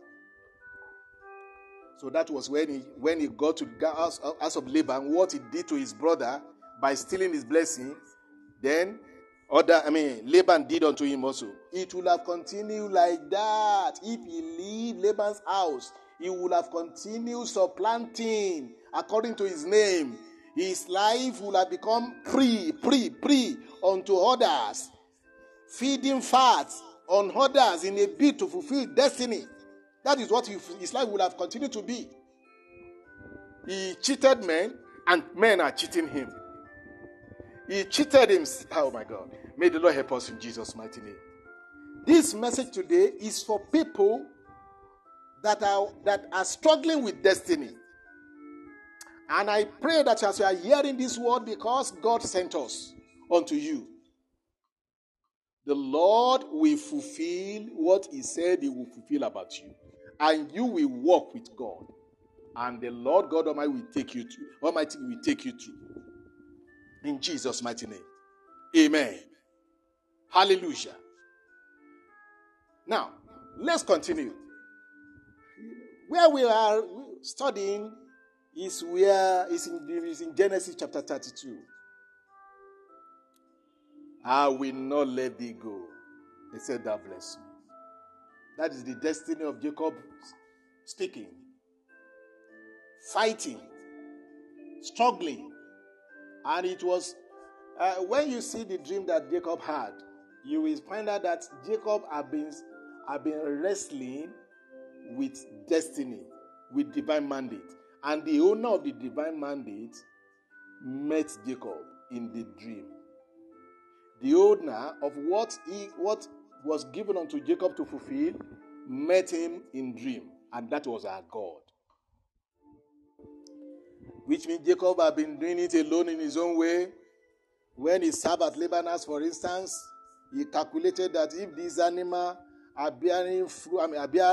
So that was when he got to the house of Laban, what he did to his brother by stealing his blessing. Then Laban did unto him also. It would have continued like that. If he leave Laban's house, he would have continued supplanting according to his name. His life would have become pre unto others, feeding fat on others in a bid to fulfill destiny. That is what his life would have continued to be. He cheated men, and men are cheating him. He cheated him. Oh my God. May the Lord help us in Jesus' mighty name. This message today is for people that are struggling with destiny. And I pray that as you are hearing this word, because God sent us unto you, the Lord will fulfill what he said he will fulfill about you. And you will walk with God. And the Lord God Almighty will take you through. In Jesus' mighty name. Amen. Hallelujah. Now, let's continue. Where we are studying is in Genesis chapter 32. I will not let thee go. He said, thou bless me. That is the destiny of Jacob speaking, fighting, struggling. And it was, when you see the dream that Jacob had, you will find out that Jacob had been wrestling with destiny, with divine mandate. And the owner of the divine mandate met Jacob in the dream. The owner of what was given unto Jacob to fulfill met him in dream, and that was our God. Which means Jacob had been doing it alone in his own way. When he served at Laban's, for instance, he calculated that if these animals are bearing fruit,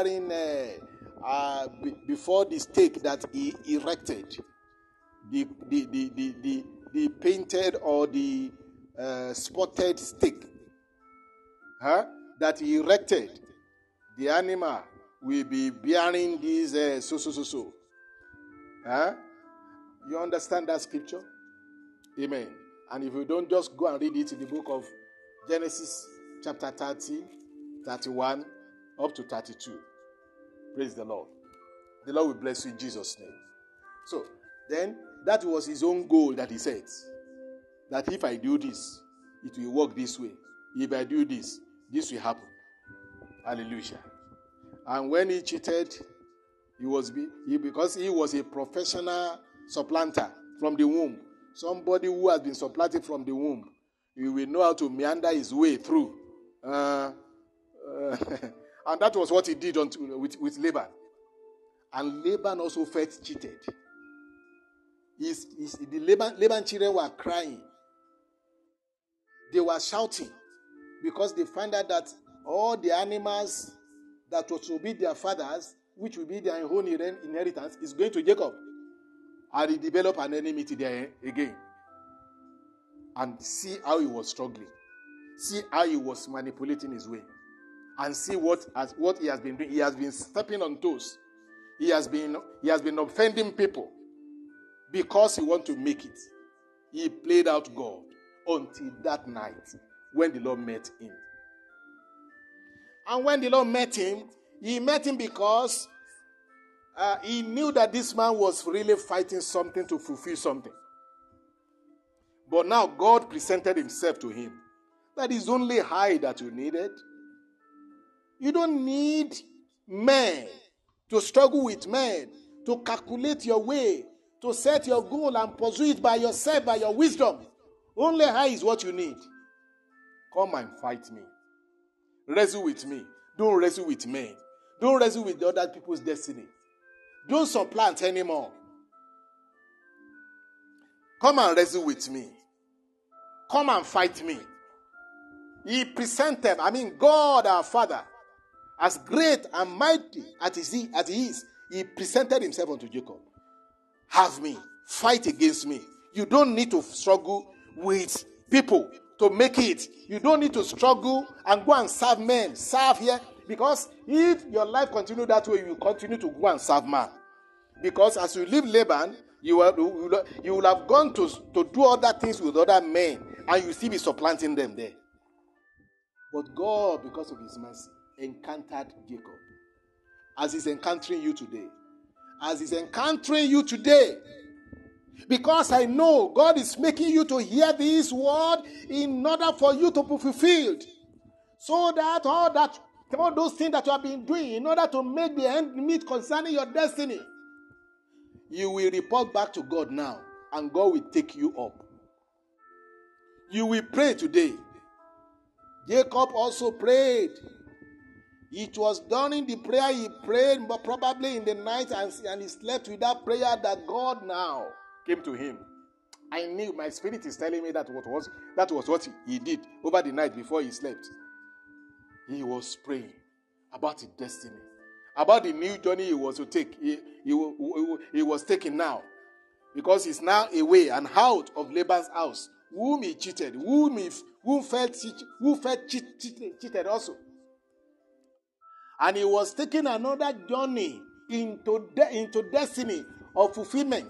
before the stake that he erected, the painted or the spotted stake that he erected, the animal will be bearing these so. You understand that scripture? Amen. And if you don't, just go and read it in the book of Genesis chapter 30, 31, up to 32. Praise the Lord. The Lord will bless you in Jesus' name. So, then, that was his own goal that he set. That if I do this, it will work this way. If I do this, this will happen. Hallelujah. And when he cheated, because he was a professional supplanter from the womb. Somebody who has been supplanted from the womb. He will know how to meander his way through. And that was what he did with Laban. And Laban also felt cheated. The Laban children were crying. They were shouting because they found out that all the animals that were to be their fathers, which will be their own inheritance, is going to Jacob. And he developed an enmity there again. And see how he was struggling. See how he was manipulating his way. And see what he has been doing. He has been stepping on toes. He has been offending people because he wants to make it. He played out God until that night when the Lord met him. And when the Lord met him, he met him because he knew that this man was really fighting something to fulfill something. But now God presented himself to him. That is only high that you needed. You don't need men to struggle with men, to calculate your way, to set your goal and pursue it by yourself, by your wisdom. Only high is what you need. Come and fight me. Wrestle with me. Don't wrestle with men. Don't wrestle with the other people's destiny. Don't supplant anymore. Come and wrestle with me. Come and fight me. He presented, God our Father, as great and mighty as he is, he presented himself unto Jacob. Have me. Fight against me. You don't need to struggle with people to make it. You don't need to struggle and go and serve men. Serve here. Because if your life continues that way, you will continue to go and serve man. Because as you leave Laban, you will have gone to do other things with other men, and you still be supplanting them there. But God, because of his mercy, encountered Jacob. As he's encountering you today. As he's encountering you today. Because I know God is making you to hear this word in order for you to be fulfilled. So that all those things that you have been doing in order to make the end meet concerning your destiny, you will report back to God now, and God will take you up. You will pray today. Jacob also prayed. It was during the prayer he prayed, but probably in the night, and he slept with that prayer, that God now came to him. I knew, my spirit is telling me that was what he did over the night before he slept. He was praying about his destiny, about the new journey he was to take. He was taking now, because he's now away and out of Laban's house, whom he cheated, who felt cheated also. And he was taking another journey into destiny of fulfillment.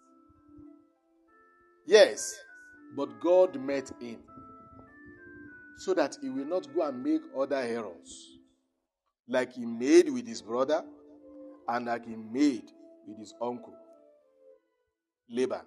Yes, but God met him so that he will not go and make other errors, like he made with his brother and like he made with his uncle, Laban.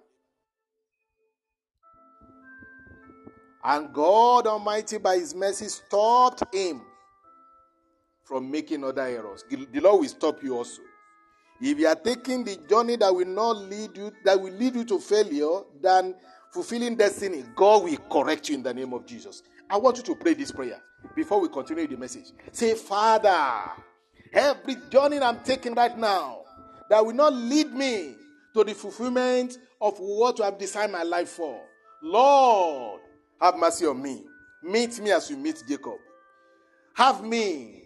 And God Almighty, by his mercy, stopped him from making other errors. The Lord will stop you also. If you are taking the journey that will not lead you to failure than fulfilling destiny, God will correct you in the name of Jesus. I want you to pray this prayer before we continue the message. Say, Father, every journey I'm taking right now that will not lead me to the fulfillment of what you have designed my life for, Lord, have mercy on me. Meet me as you meet Jacob. Have me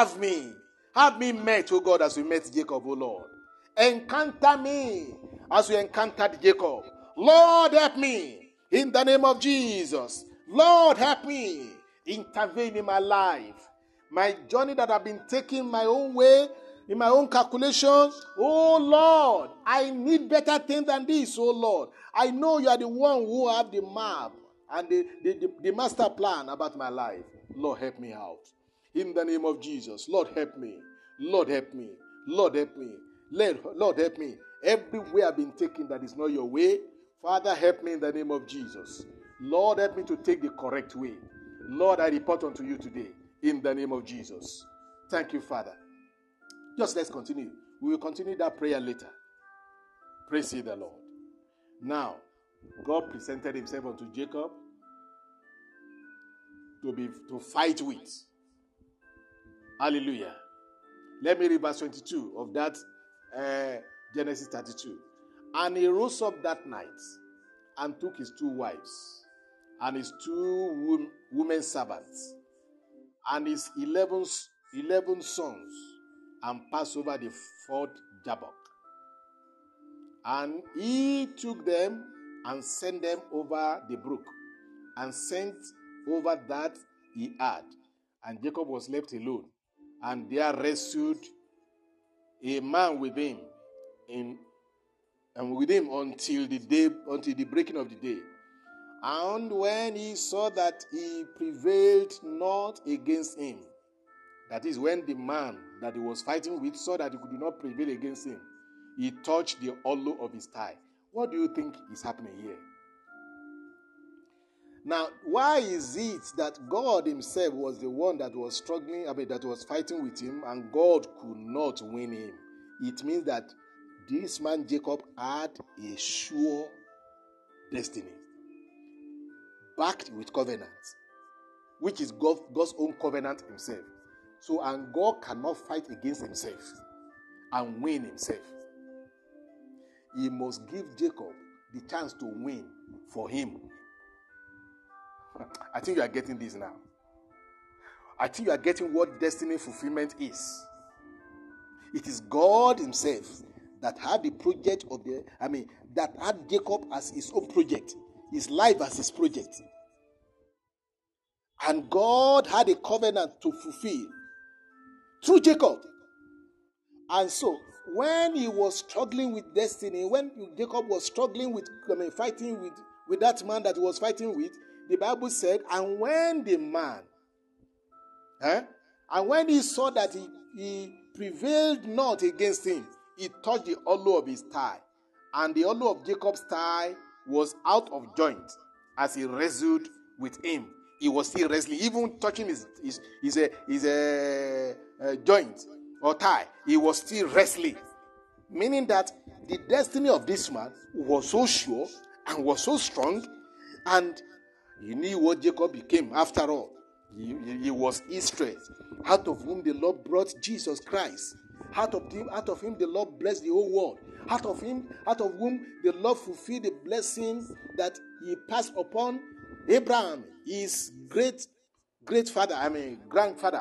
met, O God, as you met Jacob, O Lord. Encounter me as you encountered Jacob. Lord, help me in the name of Jesus. Lord, help me. Intervene in my life. My journey that I've been taking my own way, in my own calculations. Oh Lord, I need better things than this, oh Lord. I know you are the one who have the map and the master plan about my life. Lord, help me out. In the name of Jesus, Lord, help me. Lord, help me. Lord, help me. Lord, help me. Every way I've been taking that is not your way, Father, help me in the name of Jesus. Lord, help me to take the correct way. Lord, I report unto you today in the name of Jesus. Thank you, Father. Just let's continue. We will continue that prayer later. Praise ye the Lord. Now, God presented himself unto Jacob to fight with. Hallelujah. Let me read verse 22 of that Genesis 32. And he rose up that night and took his 2 wives and his 2 women servants and his 11 sons and passed over the ford Jabbok. And he took them and sent them over the brook and sent over that he had. And Jacob was left alone. And there wrestled a man with him until the breaking of the day. And when he saw that he prevailed not against him, that is, when the man that he was fighting with saw that he could not prevail against him, he touched the hollow of his thigh. What do you think is happening here? Now, why is it that God himself was the one that was that was fighting with him, and God could not win him? It means that this man Jacob had a sure destiny, backed with covenant, which is God's own covenant himself. So, and God cannot fight against himself and win himself. He must give Jacob the chance to win for him. I think you are getting this now. I think you are getting what destiny fulfillment is. It is God himself that had the project that had Jacob as his own project, his life as his project. And God had a covenant to fulfill through Jacob. And so, when he was struggling with destiny, when Jacob was struggling with, fighting with that man that he was fighting with, the Bible said, and when the man, and when he saw that he prevailed not against him, he touched the hollow of his thigh. And the hollow of Jacob's thigh was out of joint as he wrestled with him. He was still wrestling, even touching his joint or thigh. He was still wrestling. Meaning that the destiny of this man was so sure and was so strong, and he knew what Jacob became after all. He was Israel, out of whom the Lord brought Jesus Christ. Out of him the Lord blessed the whole world. Out of whom the Lord fulfilled the blessing that he passed upon Abraham, his grandfather.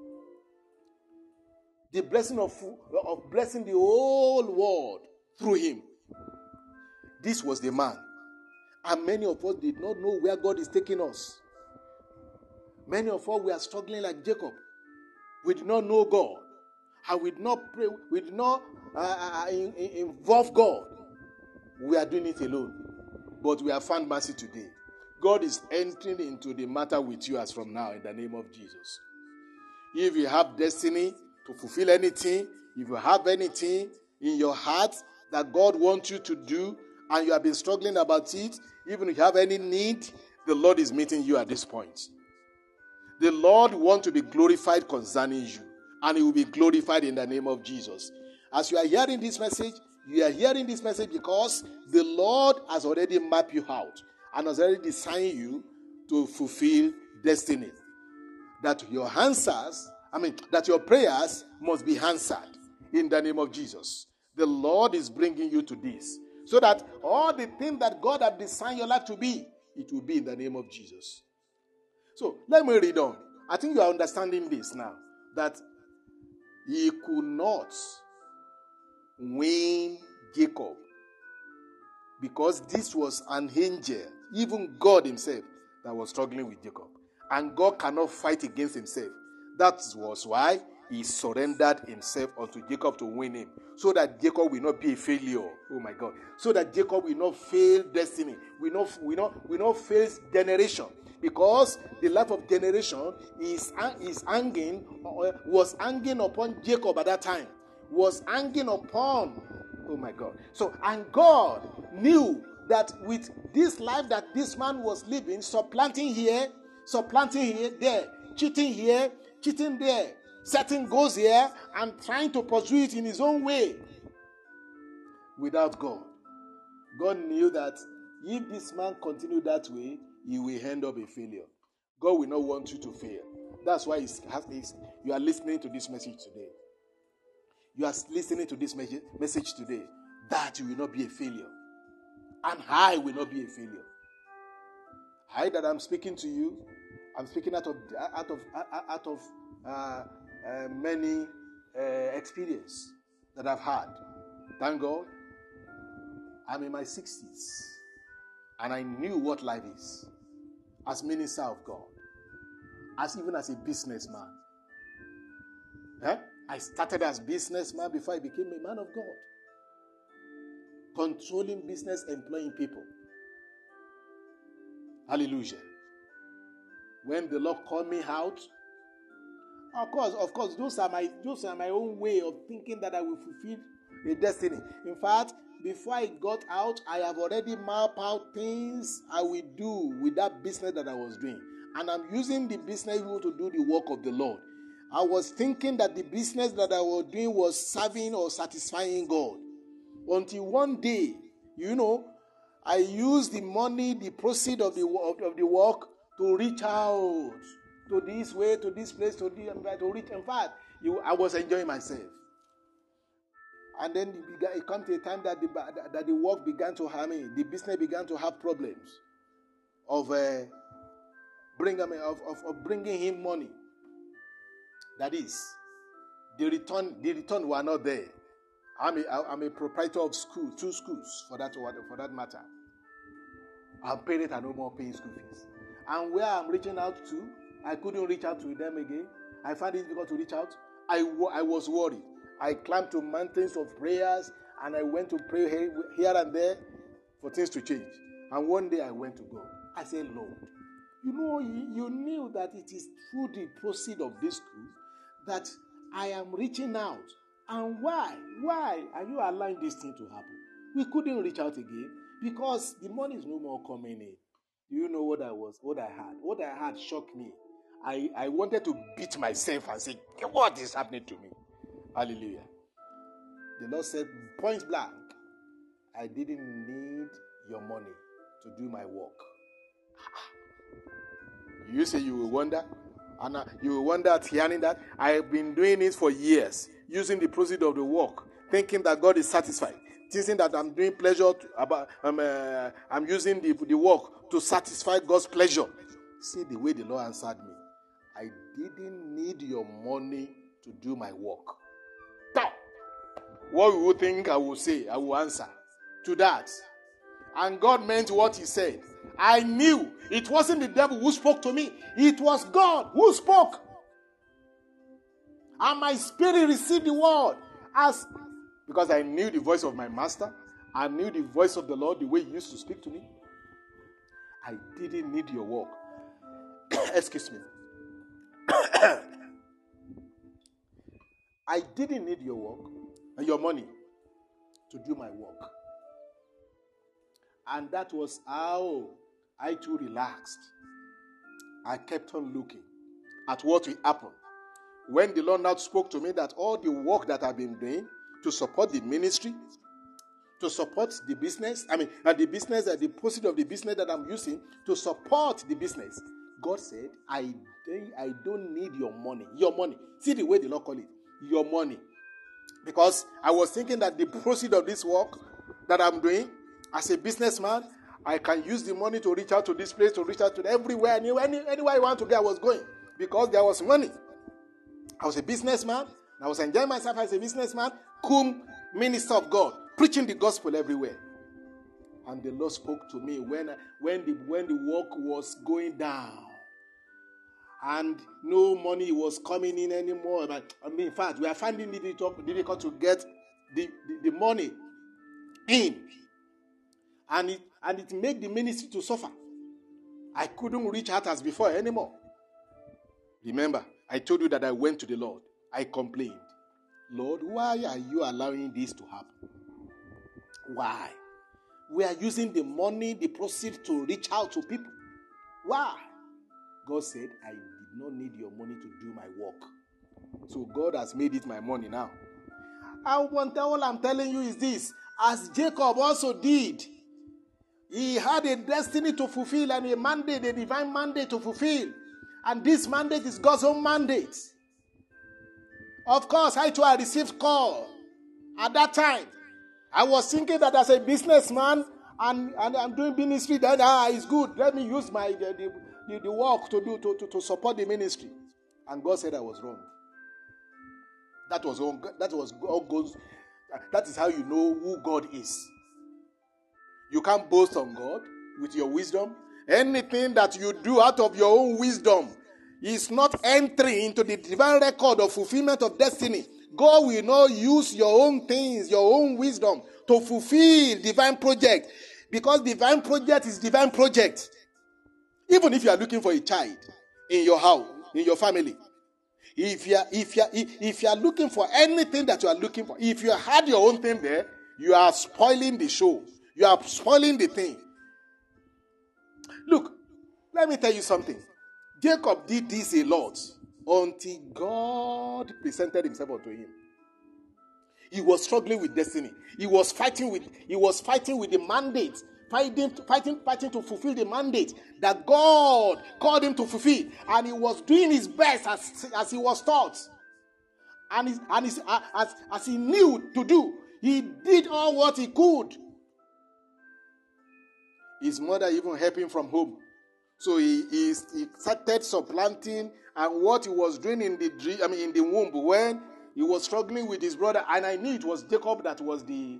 The blessing of blessing the whole world through him. This was the man. And many of us did not know where God is taking us. Many of us were struggling like Jacob. We did not know God. And we did not pray. We did not involve God. We are doing it alone. But we have found mercy today. God is entering into the matter with you as from now in the name of Jesus. If you have destiny to fulfill anything, if you have anything in your heart that God wants you to do and you have been struggling about it, even if you have any need, the Lord is meeting you at this point. The Lord wants to be glorified concerning you, and He will be glorified in the name of Jesus. As you are hearing this message, you are hearing this message because the Lord has already mapped you out and has already designed you to fulfill destiny. That your prayers must be answered in the name of Jesus. The Lord is bringing you to this, so that all the things that God has designed your life to be, it will be in the name of Jesus. So, let me read on. I think you are understanding this now. That he could not win Jacob because this was an angel, even God himself, that was struggling with Jacob. And God cannot fight against himself. That was why he surrendered himself unto Jacob to win him. So that Jacob will not be a failure. Oh my God. So that Jacob will not fail destiny. Will not fail generation. Because the life of generation was hanging upon Jacob at that time. Was hanging upon, oh my God. So, and God knew that with this life that this man was living, supplanting here, there, cheating here, cheating there, setting goals here, and trying to pursue it in his own way, without God. God knew that if this man continued that way, he will end up a failure. God will not want you to fail. That's why you are listening to this message today. You are listening to this message today, that you will not be a failure. And I will not be a failure. I that I'm speaking to you, I'm speaking out of many experience that I've had. Thank God. I'm in my 60s. And I knew what life is. As minister of God. Even as a businessman. I started as businessman before I became a man of God. Controlling business, employing people. Hallelujah. When the Lord called me out, of course, those are my own way of thinking that I will fulfill a destiny. In fact, before I got out, I have already mapped out things I will do with that business that I was doing. And I'm using the business to do the work of the Lord. I was thinking that the business that I was doing was serving or satisfying God. Until one day, I used the money, the proceeds of the work to reach out to this way, to this place, to reach. In fact, I was enjoying myself. And then it comes to a time that the work began to harm me. The business began to have problems of bringing him money. That is, the return were not there. I'm a proprietor of two schools for that matter. Our parents are no more paying school fees. And where I'm reaching out to, I couldn't reach out to them again. I found it difficult to reach out. I was worried. I climbed to mountains of prayers and I went to pray here and there for things to change. And one day I went to God. I said, Lord, you knew that it is through the proceed of this school that I am reaching out. And why? Why are you allowing this thing to happen? We couldn't reach out again because the money is no more coming in. Do you know what I had? What I had shocked me. I wanted to beat myself and say, what is happening to me? Hallelujah. The Lord said, point blank, I didn't need your money to do my work. You say you will wonder, And you wonder at hearing that. I've been doing it for years, using the proceeds of the work, thinking that God is satisfied, thinking that I'm doing pleasure, I'm using the work to satisfy God's pleasure. See the way the Lord answered me. I didn't need your money to do my work. What you would think I will say, I will answer to that. And God meant what he said. I knew it wasn't the devil who spoke to me. It was God who spoke. And my spirit received the word because I knew the voice of my master. I knew the voice of the Lord, the way he used to speak to me. I didn't need your work. Excuse me. I didn't need your work and your money to do my work. And that was how I too relaxed. I kept on looking at what will happen. When the Lord now spoke to me that all the work that I've been doing to support the ministry, to support the business, the proceeds of the business that I'm using to support the business, God said, I don't need your money. Your money. See the way the Lord called it. Your money. Because I was thinking that the proceeds of this work that I'm doing as a businessman, I can use the money to reach out to this place, to reach out to everywhere, anywhere I want to go, I was going. Because there was money. I was a businessman. I was enjoying myself as a businessman, cum minister of God, preaching the gospel everywhere. And the Lord spoke to me when the work was going down. And no money was coming in anymore. In fact, we are finding it difficult to get the money in. And it made the ministry to suffer. I couldn't reach out as before anymore. Remember, I told you that I went to the Lord. I complained. Lord, why are you allowing this to happen? Why? We are using the money, the proceeds to reach out to people. Why? God said, I did not need your money to do my work. So God has made it my money now. All I'm telling you is this. As Jacob also did, he had a destiny to fulfill and a mandate, a divine mandate to fulfill. And this mandate is God's own mandate. Of course, I received call. At that time, I was thinking that as a businessman and I'm doing ministry, that is good. Let me use the work to support the ministry. And God said I was wrong. That is how you know who God is. You can't boast on God with your wisdom. Anything that you do out of your own wisdom is not entering into the divine record of fulfillment of destiny. God will not use your own things, your own wisdom to fulfill divine project. Because divine project is divine project. Even if you are looking for a child in your house, in your family. If you are looking for anything that you are looking for, if you had your own thing there, you are spoiling the show. You are spoiling the thing. Look, let me tell you something. Jacob did this a lot until God presented himself unto him. He was struggling with destiny. He was fighting with the mandate, fighting to fulfill the mandate that God called him to fulfill. And he was doing his best as he was taught. And as he knew to do, he did all what he could. His mother even helped him from home. So he started supplanting, and what he was doing in the womb when he was struggling with his brother, and I knew it was Jacob that was the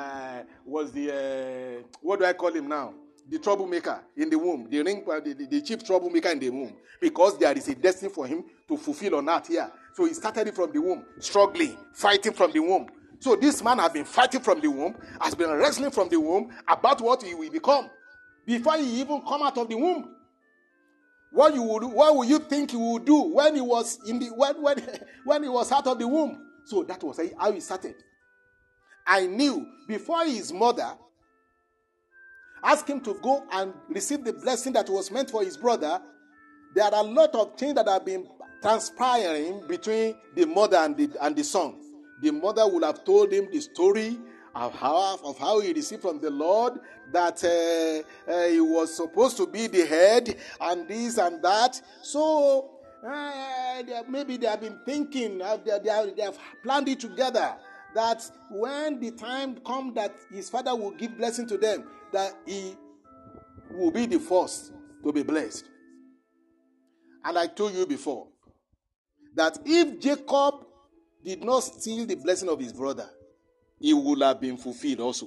what do I call him now? The troublemaker in the womb, the chief troublemaker in the womb, because there is a destiny for him to fulfill on earth here. So he started it from the womb, struggling, fighting from the womb. So this man has been fighting from the womb, has been wrestling from the womb about what he will become before he even come out of the womb. What will you think he would do when he was when he was out of the womb? So that was how he started. I knew before his mother asked him to go and receive the blessing that was meant for his brother, there are a lot of things that have been transpiring between the mother and the son. The mother would have told him the story of how he received from the Lord that he was supposed to be the head and this and that. So maybe they have been thinking, they have planned it together, that when the time comes that his father will give blessing to them, that he will be the first to be blessed. And I told you before that if Jacob did not steal the blessing of his brother, it would have been fulfilled also.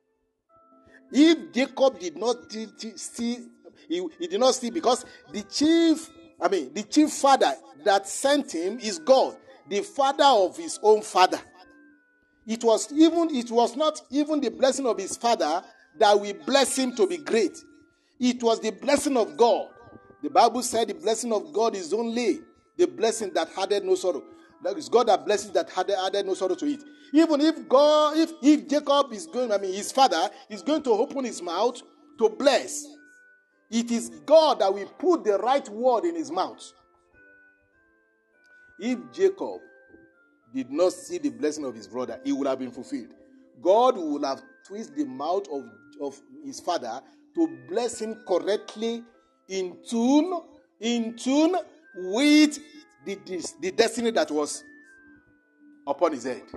If Jacob did not steal, he did not steal, because the chief father that sent him is God, the father of his own father. It was not even the blessing of his father that will bless him to be great. It was the blessing of God. The Bible said the blessing of God is only the blessing that added no sorrow. That is God that blesses that added no sorrow to it. Even if Jacob is going, his father is going to open his mouth to bless, it is God that will put the right word in his mouth. If Jacob did not see the blessing of his brother, it would have been fulfilled. God would have twisted the mouth of his father to bless him correctly, in tune with the destiny that was upon his head.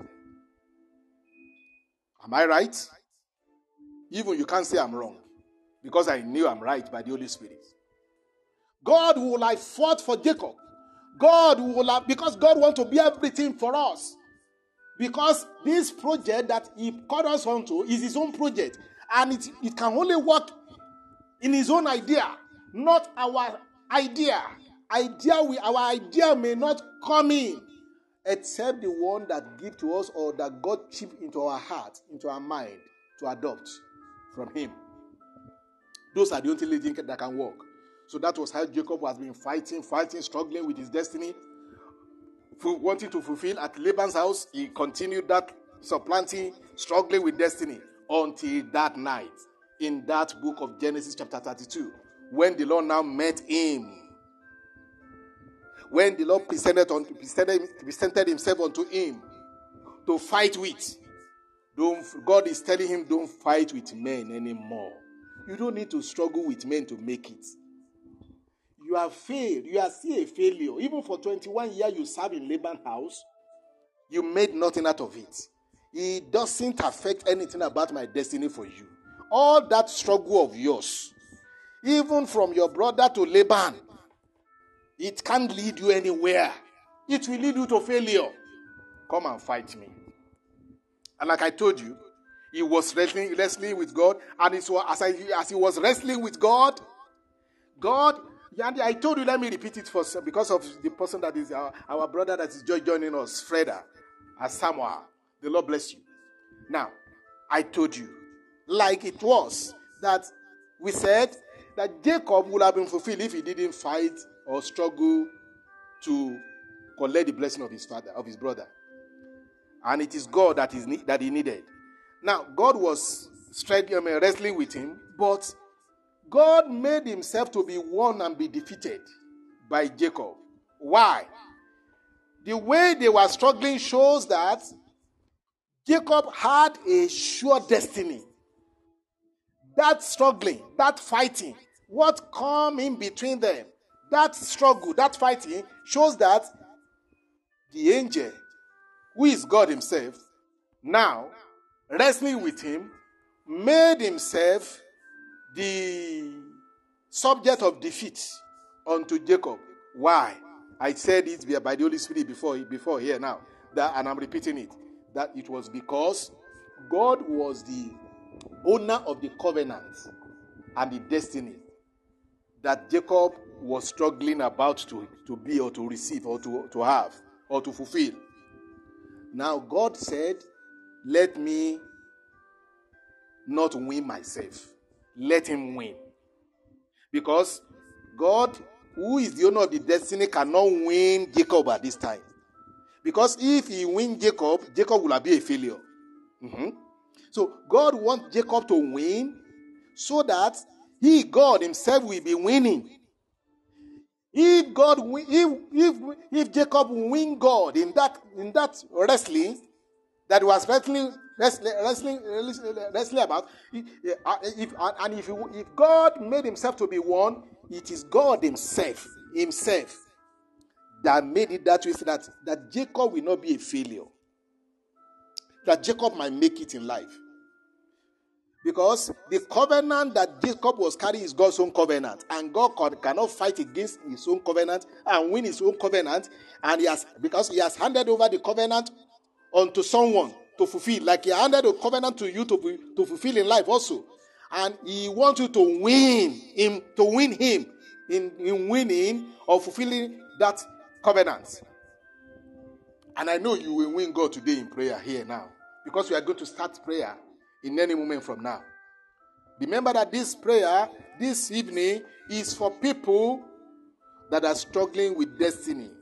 Am I right? Even you can't say I'm wrong, because I knew I'm right by the Holy Spirit. God will have fought for Jacob. Because God wants to be everything for us. Because this project that he called us onto is his own project. And it can only work in his own idea, not our idea. Our idea may not come in, except the one that gives to us, or that God chipped into our heart, into our mind, to adopt from him. Those are the only things that can work. So that was how Jacob has been fighting, struggling with his destiny, wanting to fulfill at Laban's house. He continued that supplanting, struggling with destiny, until that night, in that book of Genesis chapter 32, when the Lord now met him. When the Lord presented himself unto him to fight with. God is telling him, don't fight with men anymore. You don't need to struggle with men to make it. You have failed. You are still a failure. Even for 21 years you served in Laban's house, you made nothing out of it. It doesn't affect anything about my destiny for you. All that struggle of yours, even from your brother to Laban, it can't lead you anywhere. It will lead you to failure. Come and fight me. And like I told you, he was wrestling with God. And as he was wrestling with God, I told you, let me repeat it because of the person that is our brother that is just joining us, Freda, as Samuel. The Lord bless you. Now, I told you, like it was, that we said that Jacob would have been fulfilled if he didn't fight or struggle to collect the blessing of his father, of his brother. And it is God that he needed. Now, God was wrestling with him, but God made himself to be won and be defeated by Jacob. Why? The way they were struggling shows that Jacob had a sure destiny. That struggling, that fighting, what come in between them, that struggle, that fighting shows that the angel, who is God himself, now wrestling with him, made himself the subject of defeat unto Jacob. Why? I said it by the Holy Spirit before here now, and I'm repeating it, that it was because God was the owner of the covenant and the destiny that Jacob was struggling about to be or to receive or to have or to fulfill. Now God said, let me not win myself. Let him win. Because God, who is the owner of the destiny, cannot win Jacob at this time. Because if he wins Jacob will be a failure. So God wants Jacob to win so that God himself will be winning. If Jacob win God in that wrestling that was wrestling about, if God made himself to be won, it is God himself that made it that way, so that Jacob will not be a failure. That Jacob might make it in life. Because the covenant that Jacob was carrying is God's own covenant. And God cannot fight against his own covenant and win his own covenant. And because he has handed over the covenant unto someone to fulfill. Like he handed the covenant to you to fulfill in life also. And he wants you to win him in winning or fulfilling that covenant. And I know you will win God today in prayer here now. Because we are going to start prayer in any moment from now. Remember that this prayer, this evening, is for people that are struggling with destiny.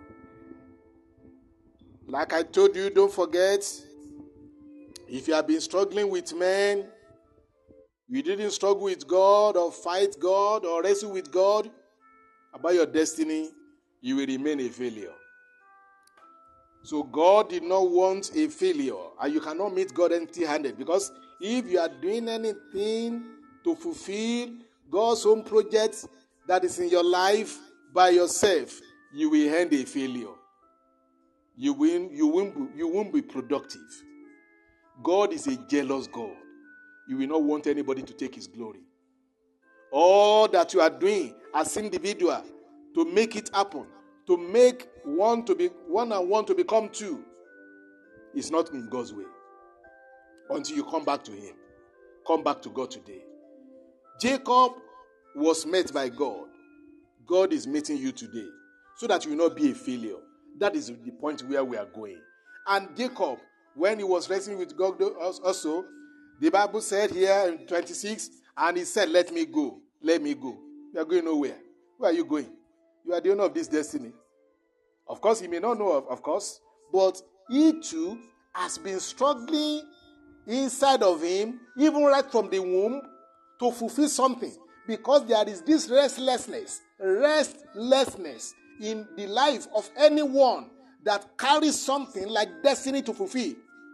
Like I told you, don't forget, if you have been struggling with men, you didn't struggle with God or fight God or wrestle with God about your destiny, you will remain a failure. So God did not want a failure, and you cannot meet God empty-handed, because if you are doing anything to fulfill God's own project that is in your life by yourself, you will end a failure. You won't be productive. God is a jealous God. You will not want anybody to take his glory. All that you are doing as individual to make it happen, to make one and one to become two, is not in God's way. Until you come back to him. Come back to God today. Jacob was met by God. God is meeting you today, so that you will not be a failure. That is the point where we are going. And Jacob, when he was wrestling with God also, the Bible said here in 26, and he said, let me go. Let me go. You are going nowhere. Where are you going? You are the owner of this destiny. Of course, he may not know, of course, but he too has been struggling inside of him, even right from the womb, to fulfill something. Because there is this restlessness in the life of anyone that carries something like destiny to fulfill.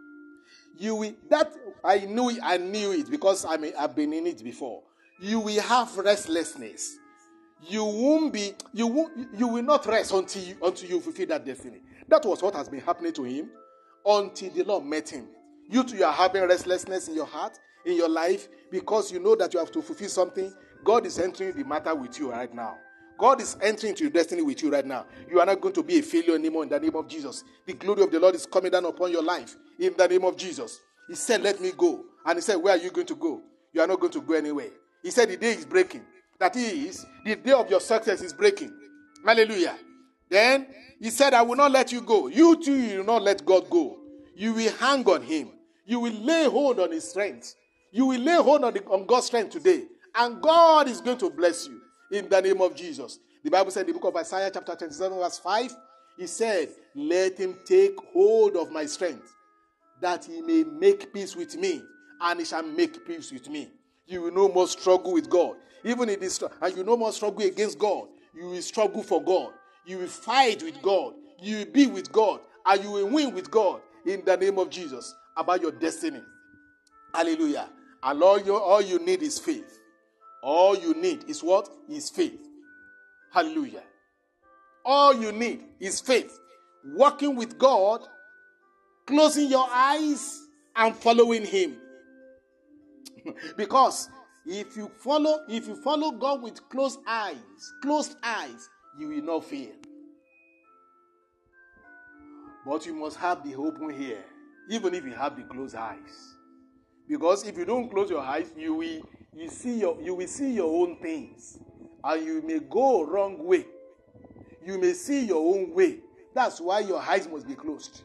I knew it because I've been in it before. You will have restlessness. You will not rest until you fulfill that destiny. That was what has been happening to him until the Lord met him. You too are having restlessness in your heart, in your life, because you know that you have to fulfill something. God is entering the matter with you right now. God is entering into your destiny with you right now. You are not going to be a failure anymore in the name of Jesus. The glory of the Lord is coming down upon your life in the name of Jesus. He said, let me go. And he said, where are you going to go? You are not going to go anywhere. He said, the day is breaking. That is, the day of your success is breaking. Hallelujah. Then he said, I will not let you go. You too, you will not let God go. You will hang on him. You will lay hold on his strength. You will lay hold on God's strength today. And God is going to bless you in the name of Jesus. The Bible said in the book of Isaiah chapter 27 verse 5, he said, let him take hold of my strength, that he may make peace with me, and he shall make peace with me. You will no more struggle with God. Even in this, and you no more struggle against God. You will struggle for God. You will fight with God. You will be with God. And you will win with God in the name of Jesus about your destiny. Hallelujah. And all you need is faith. All you need is what? Is faith. Hallelujah. All you need is faith. Walking with God, closing your eyes and following him. Because if you follow God with closed eyes, you will not fail. But you must have the open ear, even if you have the closed eyes. Because if you don't close your eyes, you will see your own things, and you may go wrong way. You may see your own way. That's why your eyes must be closed.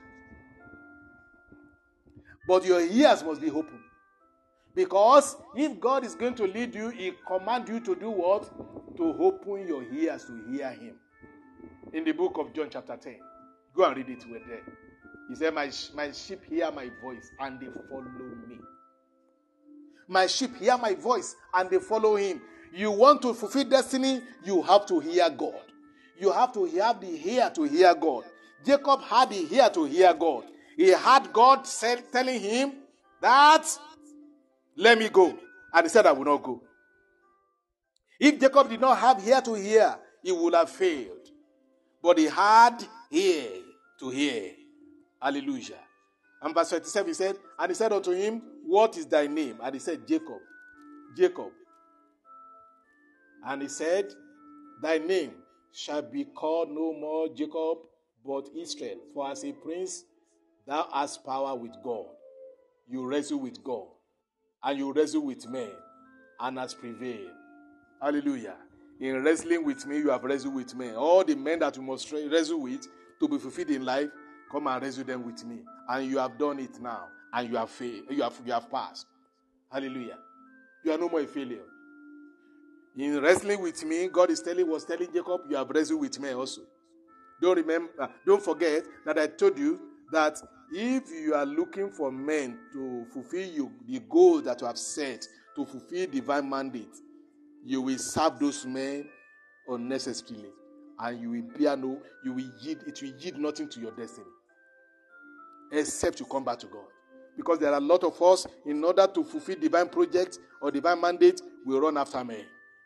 But your ears must be open. Because if God is going to lead you, he commands you to do what? To open your ears to hear him. In the book of John chapter 10. Go and read it with them. He said, my sheep hear my voice and they follow me. My sheep hear my voice and they follow him. You want to fulfill destiny, you have to hear God. You have to have the ear to hear God. Jacob had the ear to hear God. He had God telling him that, let me go. And he said, I will not go. If Jacob did not have ear to hear, he would have failed. but he had ear to hear. Hallelujah. And verse 27, he said, and he said unto him, what is thy name? And he said, Jacob. Jacob. And he said, thy name shall be called no more Jacob, but Israel. For as a prince, thou hast power with God. You wrestle with God, and you wrestle with men, and hast prevailed. Hallelujah. In wrestling with me, you have wrestled with men. All the men that you must wrestle with to be fulfilled in life, come and wrestle them with me. And you have done it now, and you have failed. You have passed. Hallelujah. You are no more a failure. In wrestling with me, God was telling Jacob, you have wrestled with me also. Don't forget that I told you that if you are looking for men to fulfill the goals that you have set, to fulfill divine mandate, you will serve those men unnecessarily, and it will yield nothing to your destiny, except you come back to God. Because there are a lot of us, in order to fulfill divine projects or divine mandate, we run after men.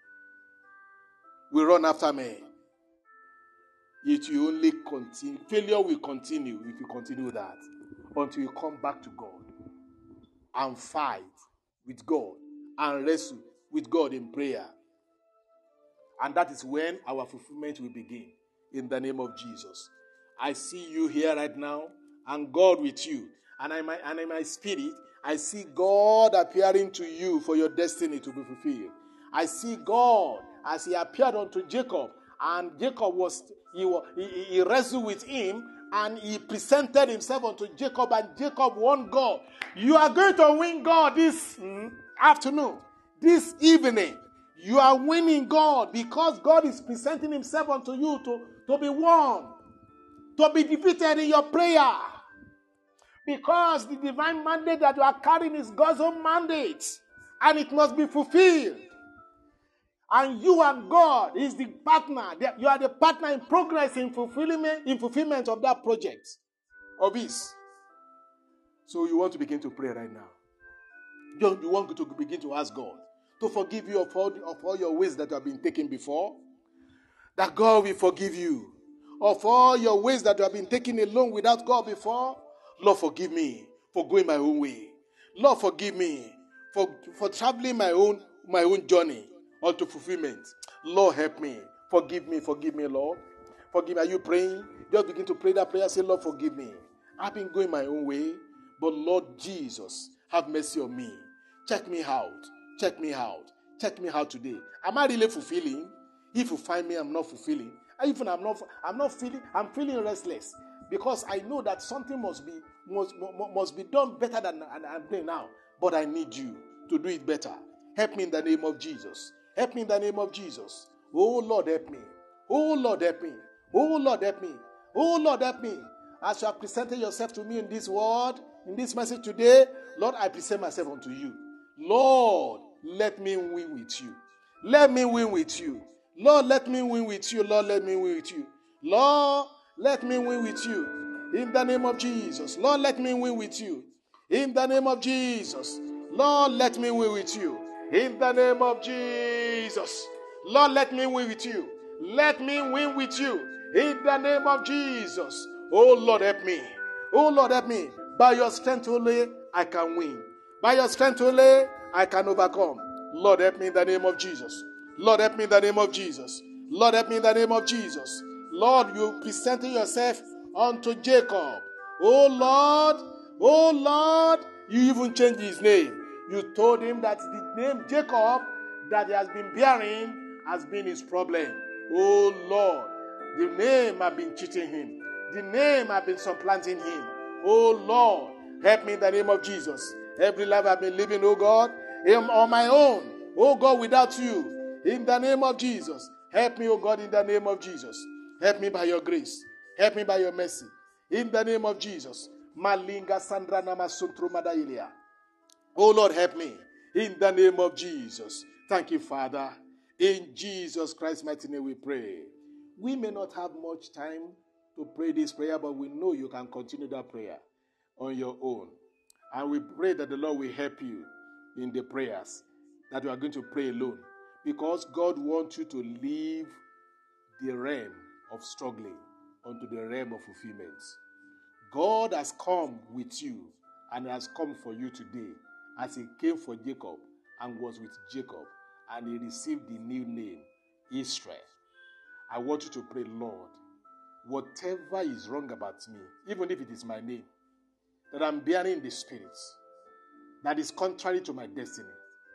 We run after men. It will only continue. Failure will continue if you continue that, until you come back to God and fight with God and wrestle with God in prayer. And that is when our fulfillment will begin, in the name of Jesus. I see you here right now, and God with you. And in my spirit, I see God appearing to you for your destiny to be fulfilled. I see God as he appeared unto Jacob, and Jacob he wrestled with him, and he presented himself unto Jacob, and Jacob won God. You are going to win God this afternoon, this evening. You are winning God, because God is presenting himself unto you to be won, to be defeated in your prayer. Because the divine mandate that you are carrying is God's own mandate, and it must be fulfilled. And you and God is the partner. You are the partner in progress, in fulfillment of that project of his. So you want to begin to pray right now. You want to begin to ask God to forgive you of all your ways that have been taken before. That God will forgive you of all your ways that you have been taken alone without God before. Lord, forgive me for going my own way. Lord, forgive me for traveling my own journey unto fulfillment. Lord, help me. Forgive me, Lord. Forgive me. Are you praying? Just begin to pray that prayer. Say, Lord, forgive me. I've been going my own way, but Lord Jesus, have mercy on me. Check me out. Check me out. Check me out today. Am I really fulfilling? If you find me, I'm not fulfilling. Even I'm feeling restless, because I know that something must be done better than I'm doing now. But I need you to do it better. Help me in the name of Jesus. Help me in the name of Jesus. Oh Lord, help me. Oh Lord, help me. Oh Lord, help me. Oh Lord, help me. As you have presented yourself to me in this word, in this message today, Lord, I present myself unto you. Lord, let me win with you. Let me win with you. Lord, let me win with you. Lord, let me win with you. Lord, let me win with you. In the name of Jesus. Lord, let me win with you. In the name of Jesus. Lord, let me win with you. In the name of Jesus. Lord, let me win with you. Let me win with you. In the name of Jesus. Oh, Lord, help me. Oh, Lord, help me. By your strength only, I can win. By your strength only, I can overcome. Lord, help me in the name of Jesus. Lord, help me in the name of Jesus. Lord, help me in the name of Jesus. Lord, you presented yourself unto Jacob. Oh Lord, you even changed his name. You told him that the name Jacob that he has been bearing has been his problem. Oh Lord, the name has been cheating him. The name has been supplanting him. Oh Lord, help me in the name of Jesus. Every life I've been living, oh God, on my own. Oh God, without you. In the name of Jesus. Help me, oh God, in the name of Jesus. Help me by your grace. Help me by your mercy. In the name of Jesus. Malinga Sandra Namasuntru Madailia. Oh Lord, help me. In the name of Jesus. Thank you, Father. In Jesus Christ's mighty name we pray. We may not have much time to pray this prayer, but we know you can continue that prayer on your own. And we pray that the Lord will help you in the prayers that you are going to pray alone. Because God wants you to leave the realm of struggling onto the realm of fulfillment. God has come with you and has come for you today as he came for Jacob and was with Jacob and he received the new name, Israel. I want you to pray, Lord, whatever is wrong about me, even if it is my name, that I'm bearing in the spirit, that is contrary to my destiny.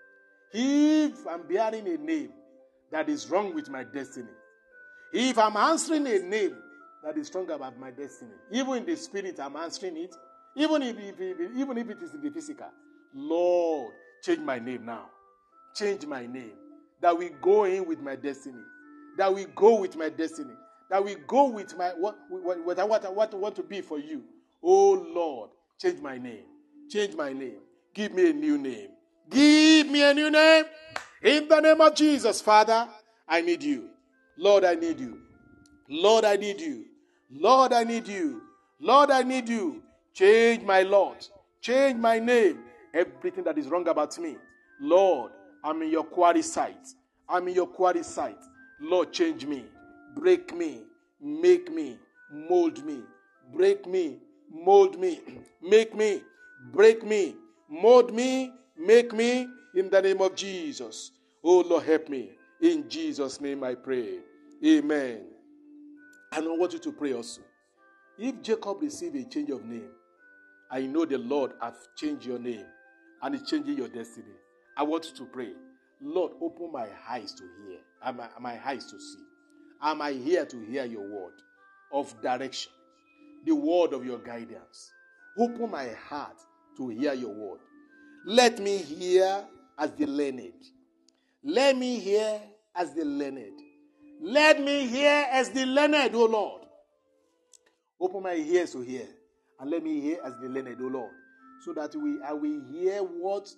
If I'm bearing a name that is wrong with my destiny, if I'm answering a name that is strong about my destiny, even in the spirit I'm answering it, even if it is in the physical, Lord, change my name now. Change my name. That we go in with my destiny. That we go with my destiny. That we go with my what I want to be for you. Oh Lord, change my name. Change my name. Give me a new name. Give me a new name. In the name of Jesus, Father, I need you. Lord, I need you. Lord, I need you. Lord, I need you. Lord, I need you. Change my Lord. Change my name. Everything that is wrong about me. Lord, I'm in your quarry site. I'm in your quarry site. Lord, change me. Break me. Make me. Mold me. Break me. Mold me. Make me. Break me. Mold me. Make me. In the name of Jesus. Oh, Lord, help me. In Jesus' name I pray. Amen. And I want you to pray also. If Jacob received a change of name, I know the Lord has changed your name and is changing your destiny. I want you to pray. Lord, open my eyes to hear, my eyes to see. Am I here to hear your word of direction, the word of your guidance? Open my heart to hear your word. Let me hear as the learned. Let me hear as the learned. Let me hear as the learned, O Lord. Open my ears to hear, and let me hear as the learned, O Lord, so that I will hear what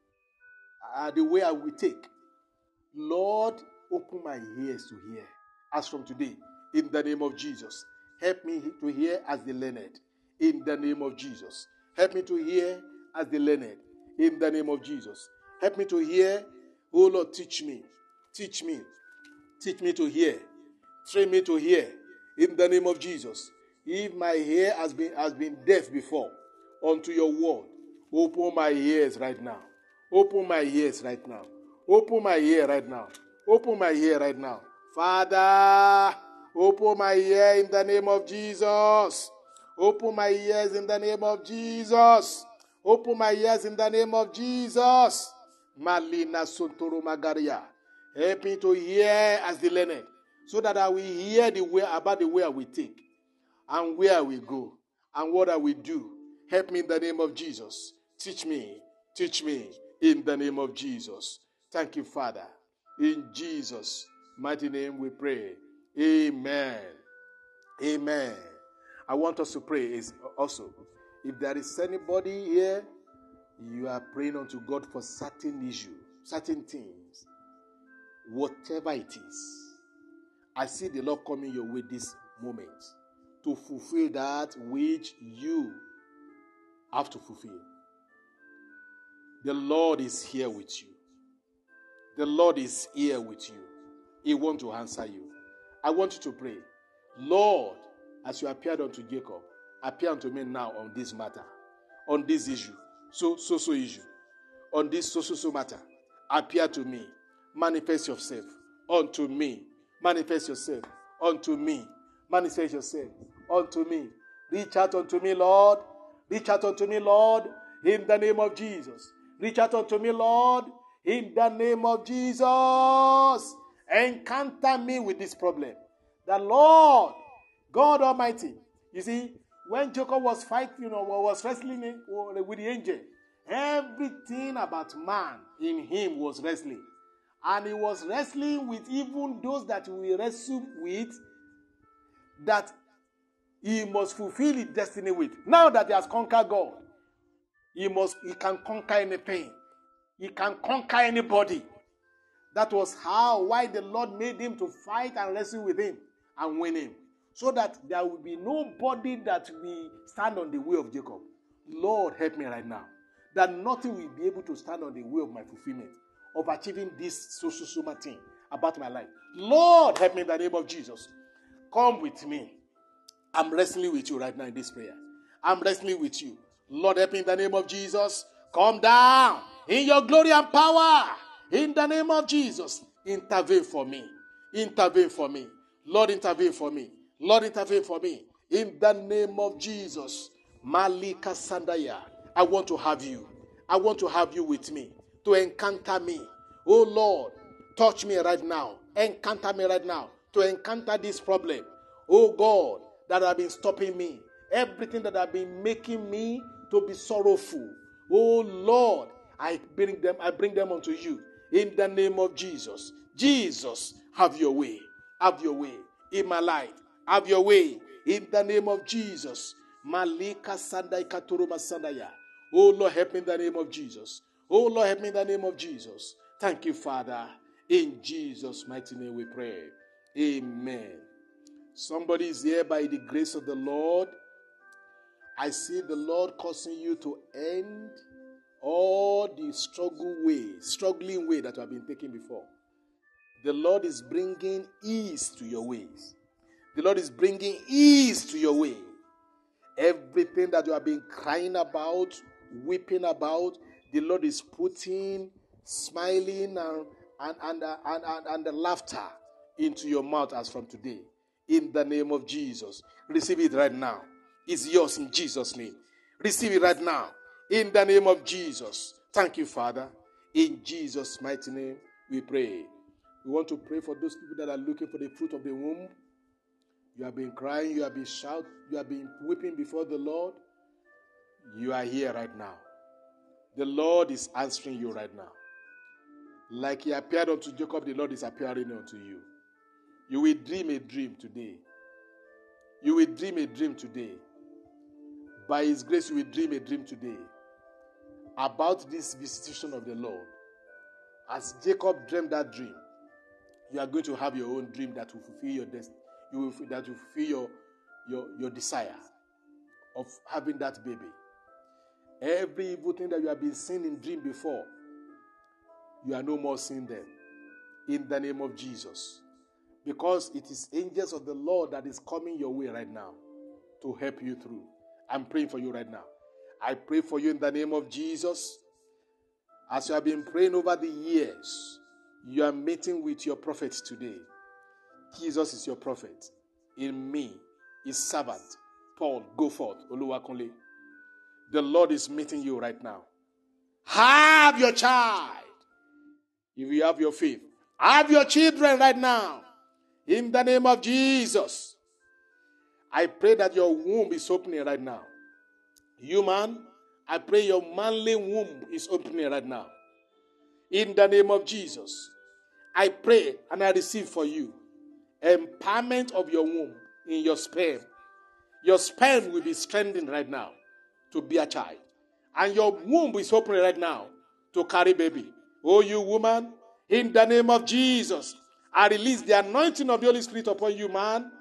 the way I will take. Lord, open my ears to hear, as from today, in the name of Jesus. Help me to hear as the learned, in the name of Jesus. Help me to hear as the learned, in the name of Jesus. Help me to hear. Oh Lord, teach me. Teach me. Teach me to hear. Train me to hear, in the name of Jesus. If my ear has been deaf before unto your word, open my ears right now. Open my ears right now. Open my ear right now. Open my ear right now. Father, open my ear in the name of Jesus. Open my ears in the name of Jesus. Open my ears in the name of Jesus. Malina Sontoro Magaria. Help me to hear as the learned, so that I will hear about the way I will take, and where I will go, and what I will do. Help me in the name of Jesus. Teach me in the name of Jesus. Thank you, Father. In Jesus' mighty name we pray. Amen. Amen. I want us to pray is also, if there is anybody here, you are praying unto God for certain issues, certain things, whatever it is, I see the Lord coming your way this moment to fulfill that which you have to fulfill. The Lord is here with you. The Lord is here with you. He wants to answer you. I want you to pray, Lord, as you appeared unto Jacob, appear unto me now on this matter, on this issue, so issue, on this so matter. Appear to me. Manifest yourself unto me. Manifest yourself unto me. Manifest yourself unto me. Reach out unto me, Lord. Reach out unto me, Lord, in the name of Jesus. Reach out unto me, Lord, in the name of Jesus. Encounter me with this problem. The Lord, God Almighty. You see, when Jacob was fighting, was wrestling with the angel, everything about man in him was wrestling. And he was wrestling with even those that we wrestle with, that he must fulfill his destiny with. Now that he has conquered God, he can conquer any pain. He can conquer anybody. That was why the Lord made him to fight and wrestle with him and win him. So that there will be nobody that will stand on the way of Jacob. Lord, help me right now. That nothing will be able to stand on the way of my fulfillment, of achieving this so thing about my life. Lord, help me in the name of Jesus. come with me. I'm wrestling with you right now in this prayer. I'm wrestling with you. Lord, help me in the name of Jesus. Come down in your glory and power. In the name of Jesus, intervene for me. Intervene for me. Lord, intervene for me. Lord, intervene for me. In the name of Jesus. Malika Sandaya. I want to have you. I want to have you with me. To encounter me. Oh Lord, touch me right now. Encounter me right now. To encounter this problem. Oh God, that have been stopping me. Everything that have been making me to be sorrowful. Oh Lord, I bring them unto you. In the name of Jesus. Jesus, have your way. Have your way in my life. Have your way in the name of Jesus. Malika Sandai Katuruma Sandaya. Oh Lord, help me in the name of Jesus. Oh Lord, help me in the name of Jesus. Thank you, Father. In Jesus' mighty name we pray. Amen. Somebody is here by the grace of the Lord. I see the Lord causing you to end all the struggling way that you have been taking before. The Lord is bringing ease to your ways. The Lord is bringing ease to your way. Everything that you have been crying about, weeping about, the Lord is putting smiling and the laughter into your mouth as from today. In the name of Jesus. Receive it right now. It's yours in Jesus' name. Receive it right now. In the name of Jesus. Thank you, Father. In Jesus' mighty name, we pray. We want to pray for those people that are looking for the fruit of the womb. You have been crying, you have been shouting, you have been weeping before the Lord. You are here right now. The Lord is answering you right now. Like he appeared unto Jacob, the Lord is appearing unto you. You will dream a dream today. You will dream a dream today. By his grace, you will dream a dream today about this visitation of the Lord. As Jacob dreamed that dream, you are going to have your own dream that will fulfill your destiny. That will fulfill your desire of having that baby. Every evil thing that you have been seeing in dream before, you are no more seeing them. In the name of Jesus. Because it is angels of the Lord that is coming your way right now to help you through. I'm praying for you right now. I pray for you in the name of Jesus. As you have been praying over the years, you are meeting with your prophet today. Jesus is your prophet. In me, his servant, Paul, go forth, Oluwakunle. The Lord is meeting you right now. Have your child. If you have your faith, have your children right now. In the name of Jesus. I pray that your womb is opening right now. You man, I pray your manly womb is opening right now. In the name of Jesus. I pray and I receive for you empowerment of your womb in your sperm. Your sperm will be strengthened right now to be a child. And your womb is opening right now to carry baby. Oh, you woman, in the name of Jesus, I release the anointing of the Holy Spirit upon you, man.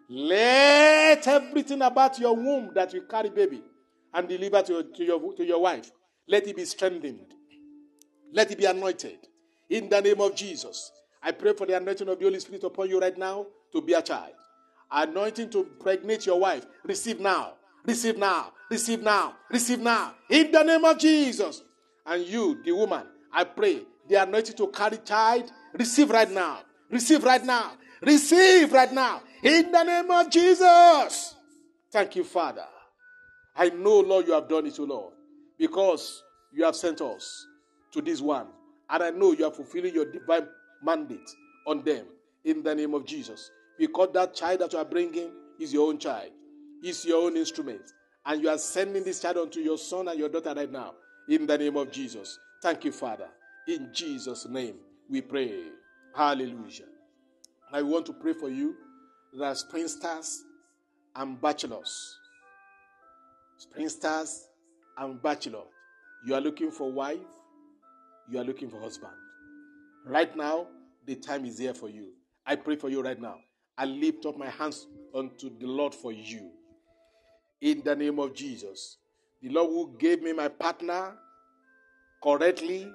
Let everything about your womb that you carry baby and deliver to your wife, let it be strengthened. Let it be anointed. In the name of Jesus. I pray for the anointing of the Holy Spirit upon you right now to be a child. Anointing to pregnate your wife. Receive now. Receive now. Receive now. Receive now. In the name of Jesus. And you, the woman, I pray the anointing to carry child. Receive right now. Receive right now. Receive right now. In the name of Jesus. Thank you, Father. I know, Lord, you have done it, O Lord, because you have sent us to this one. And I know you are fulfilling your divine mandate on them in the name of Jesus. Because that child that you are bringing is your own child. Is your own instrument. And you are sending this child unto your son and your daughter right now in the name of Jesus. Thank you, Father. In Jesus' name we pray. Hallelujah. I want to pray for you that are spinsters and bachelors. Spinsters and bachelor. You are looking for wife. You are looking for husband. Right now, the time is here for you. I pray for you right now. I lift up my hands unto the Lord for you. In the name of Jesus. The Lord who gave me my partner correctly,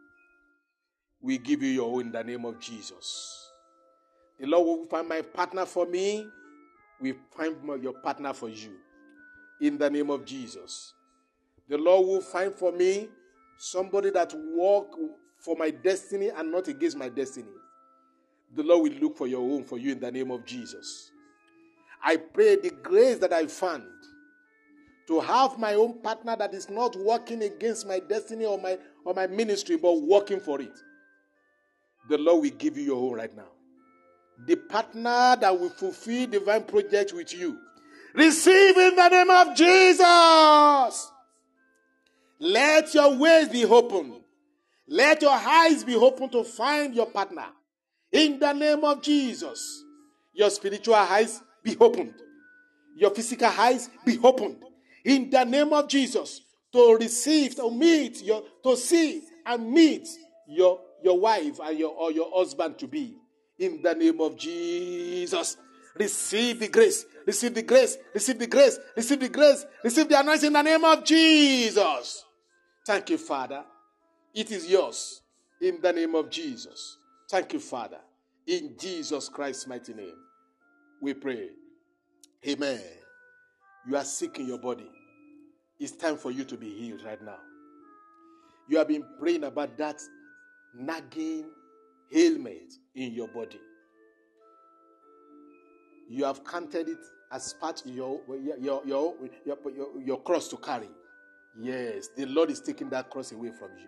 we give you your own in the name of Jesus. The Lord will find my partner for me will find your partner for you. In the name of Jesus. The Lord will find for me somebody that walk for my destiny and not against my destiny. The Lord will look for your home for you in the name of Jesus. I pray the grace that I found to have my own partner that is not working against my destiny or my ministry, but working for it. The Lord will give you your home right now. The partner that will fulfill divine projects with you. Receive in the name of Jesus. Let your ways be open. Let your eyes be open to find your partner. In the name of Jesus. Your spiritual eyes be opened. Your physical eyes be opened. In the name of Jesus. To receive, to meet, to see and meet your wife and your husband to be. In the name of Jesus. Receive the grace. Receive the grace. Receive the grace. Receive the grace. Receive the anointing in the name of Jesus. Thank you, Father. It is yours. In the name of Jesus. Thank you, Father. In Jesus Christ's mighty name, we pray. Amen. You are sick in your body. It's time for you to be healed right now. You have been praying about that nagging ailment in your body. You have counted it as part of your cross to carry. Yes, the Lord is taking that cross away from you.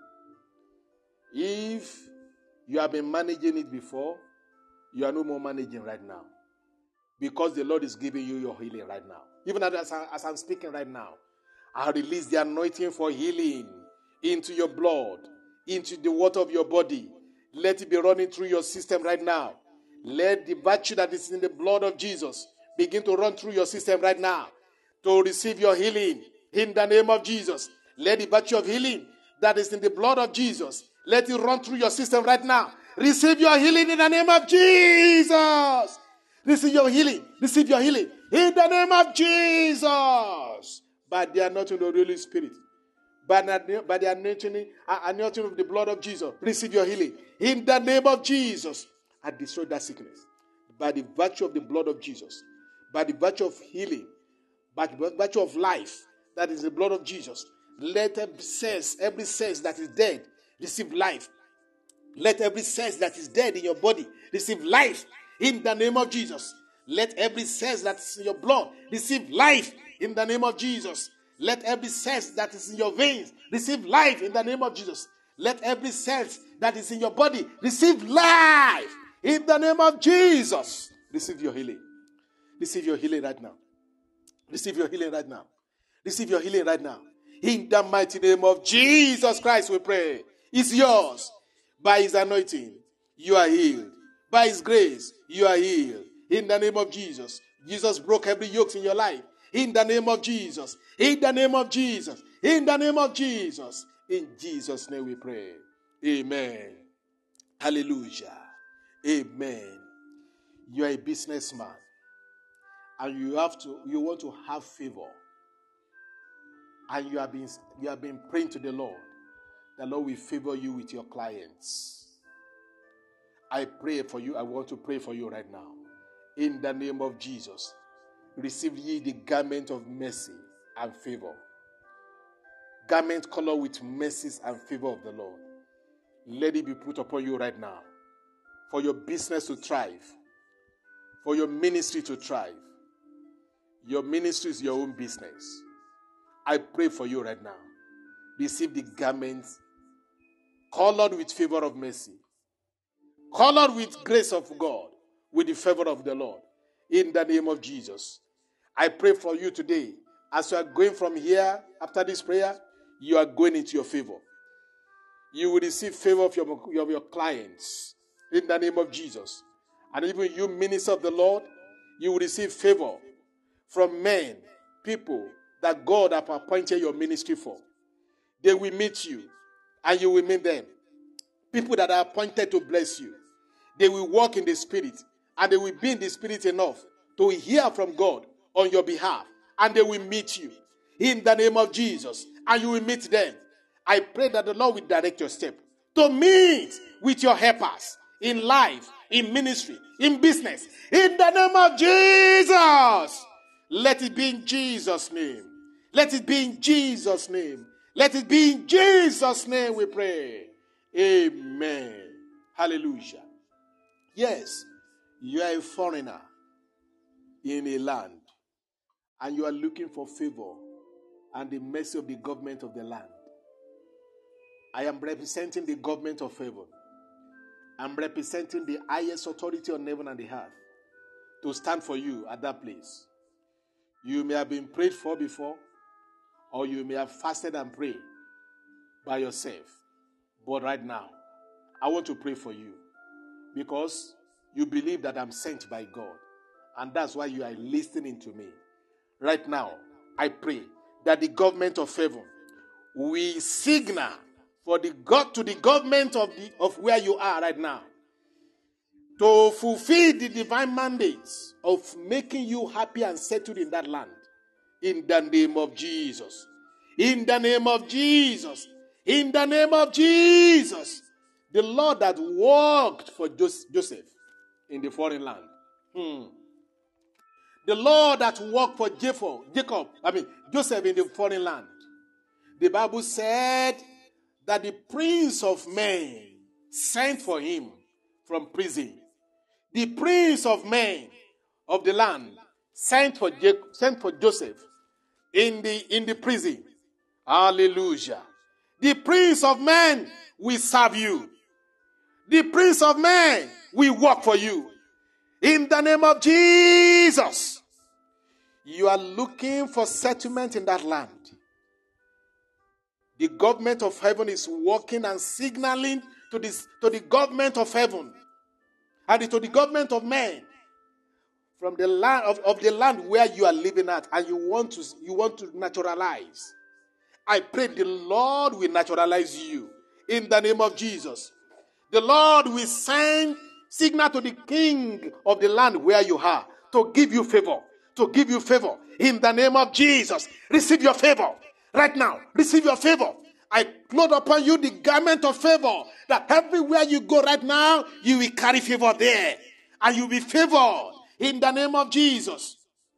If you have been managing it before, you are no more managing right now. Because the Lord is giving you your healing right now. Even as I'm speaking right now, I release the anointing for healing into your blood, into the water of your body. Let it be running through your system right now. Let the virtue that is in the blood of Jesus begin to run through your system right now to receive your healing in the name of Jesus. Let the virtue of healing that is in the blood of Jesus, let it run through your system right now. Receive your healing in the name of Jesus. Receive your healing. Receive your healing in the name of Jesus. By the anointing of the Holy Spirit. By the anointing of the blood of Jesus. Receive your healing in the name of Jesus. I destroy that sickness. By the virtue of the blood of Jesus. By the virtue of healing. By the virtue of life. That is the blood of Jesus. Let every sense that is dead receive life. Let every sense that is dead in your body receive life in the name of Jesus. Let every sense that is in your blood receive life in the name of Jesus. Let every sense that is in your veins receive life in the name of Jesus. Let every sense that is in your body receive life in the name of Jesus. Receive your healing. Receive your healing right now. Receive your healing right now. Receive your healing right now. In the mighty name of Jesus Christ we pray. It's yours. By his anointing, you are healed. By his grace, you are healed. In the name of Jesus. Jesus broke every yoke in your life. In the name of Jesus. In the name of Jesus. In the name of Jesus. In Jesus' name we pray. Amen. Hallelujah. Amen. You are a businessman. And you want to have favor. And you have been praying to the Lord. The Lord will favor you with your clients. I pray for you. I want to pray for you right now. In the name of Jesus. Receive ye the garment of mercy and favor. Garment colored with mercies and favor of the Lord. Let it be put upon you right now. For your business to thrive. For your ministry to thrive. Your ministry is your own business. I pray for you right now. Receive the garments colored with favor of mercy. Colored with grace of God. With the favor of the Lord. In the name of Jesus. I pray for you today. As you are going from here, after this prayer, you are going into your favor. You will receive favor of your clients. In the name of Jesus. And even you, minister of the Lord, you will receive favor from men, people that God have appointed your ministry for. They will meet you, and you will meet them. People that are appointed to bless you. They will walk in the Spirit, and they will be in the Spirit enough to hear from God on your behalf, and they will meet you in the name of Jesus, and you will meet them. I pray that the Lord will direct your step to meet with your helpers in life, in ministry, in business. In the name of Jesus. Let it be in Jesus' name. Let it be in Jesus' name. Let it be in Jesus' name we pray. Amen. Hallelujah. Yes, you are a foreigner in a land and you are looking for favor and the mercy of the government of the land. I am representing the government of heaven. I'm representing the highest authority on heaven and the earth to stand for you at that place. You may have been prayed for before, or you may have fasted and prayed by yourself. But right now, I want to pray for you because you believe that I'm sent by God. And that's why you are listening to me. Right now, I pray that the government of heaven will signal for the God to the government of where you are right now to fulfill the divine mandates of making you happy and settled in that land. In the name of Jesus. In the name of Jesus. In the name of Jesus. The Lord that worked for Joseph in the foreign land. The Lord that worked for Joseph in the foreign land. The Bible said that the Prince of Men sent for him from prison. The Prince of Men of the land sent for Joseph in the prison. Hallelujah. The Prince of Men will serve you. The Prince of Men will work for you. In the name of Jesus. You are looking for settlement in that land. The government of heaven is working and signaling to the government of heaven and to the government of men from the land of the land where you are living at, and you want to naturalize. I pray the Lord will naturalize you in the name of Jesus. The Lord will send signal to the king of the land where you are to give you favor. To give you favor in the name of Jesus. Receive your favor right now. Receive your favor. I clothe upon you the garment of favor, that everywhere you go right now, you will carry favor there. And you will be favored in the name of Jesus.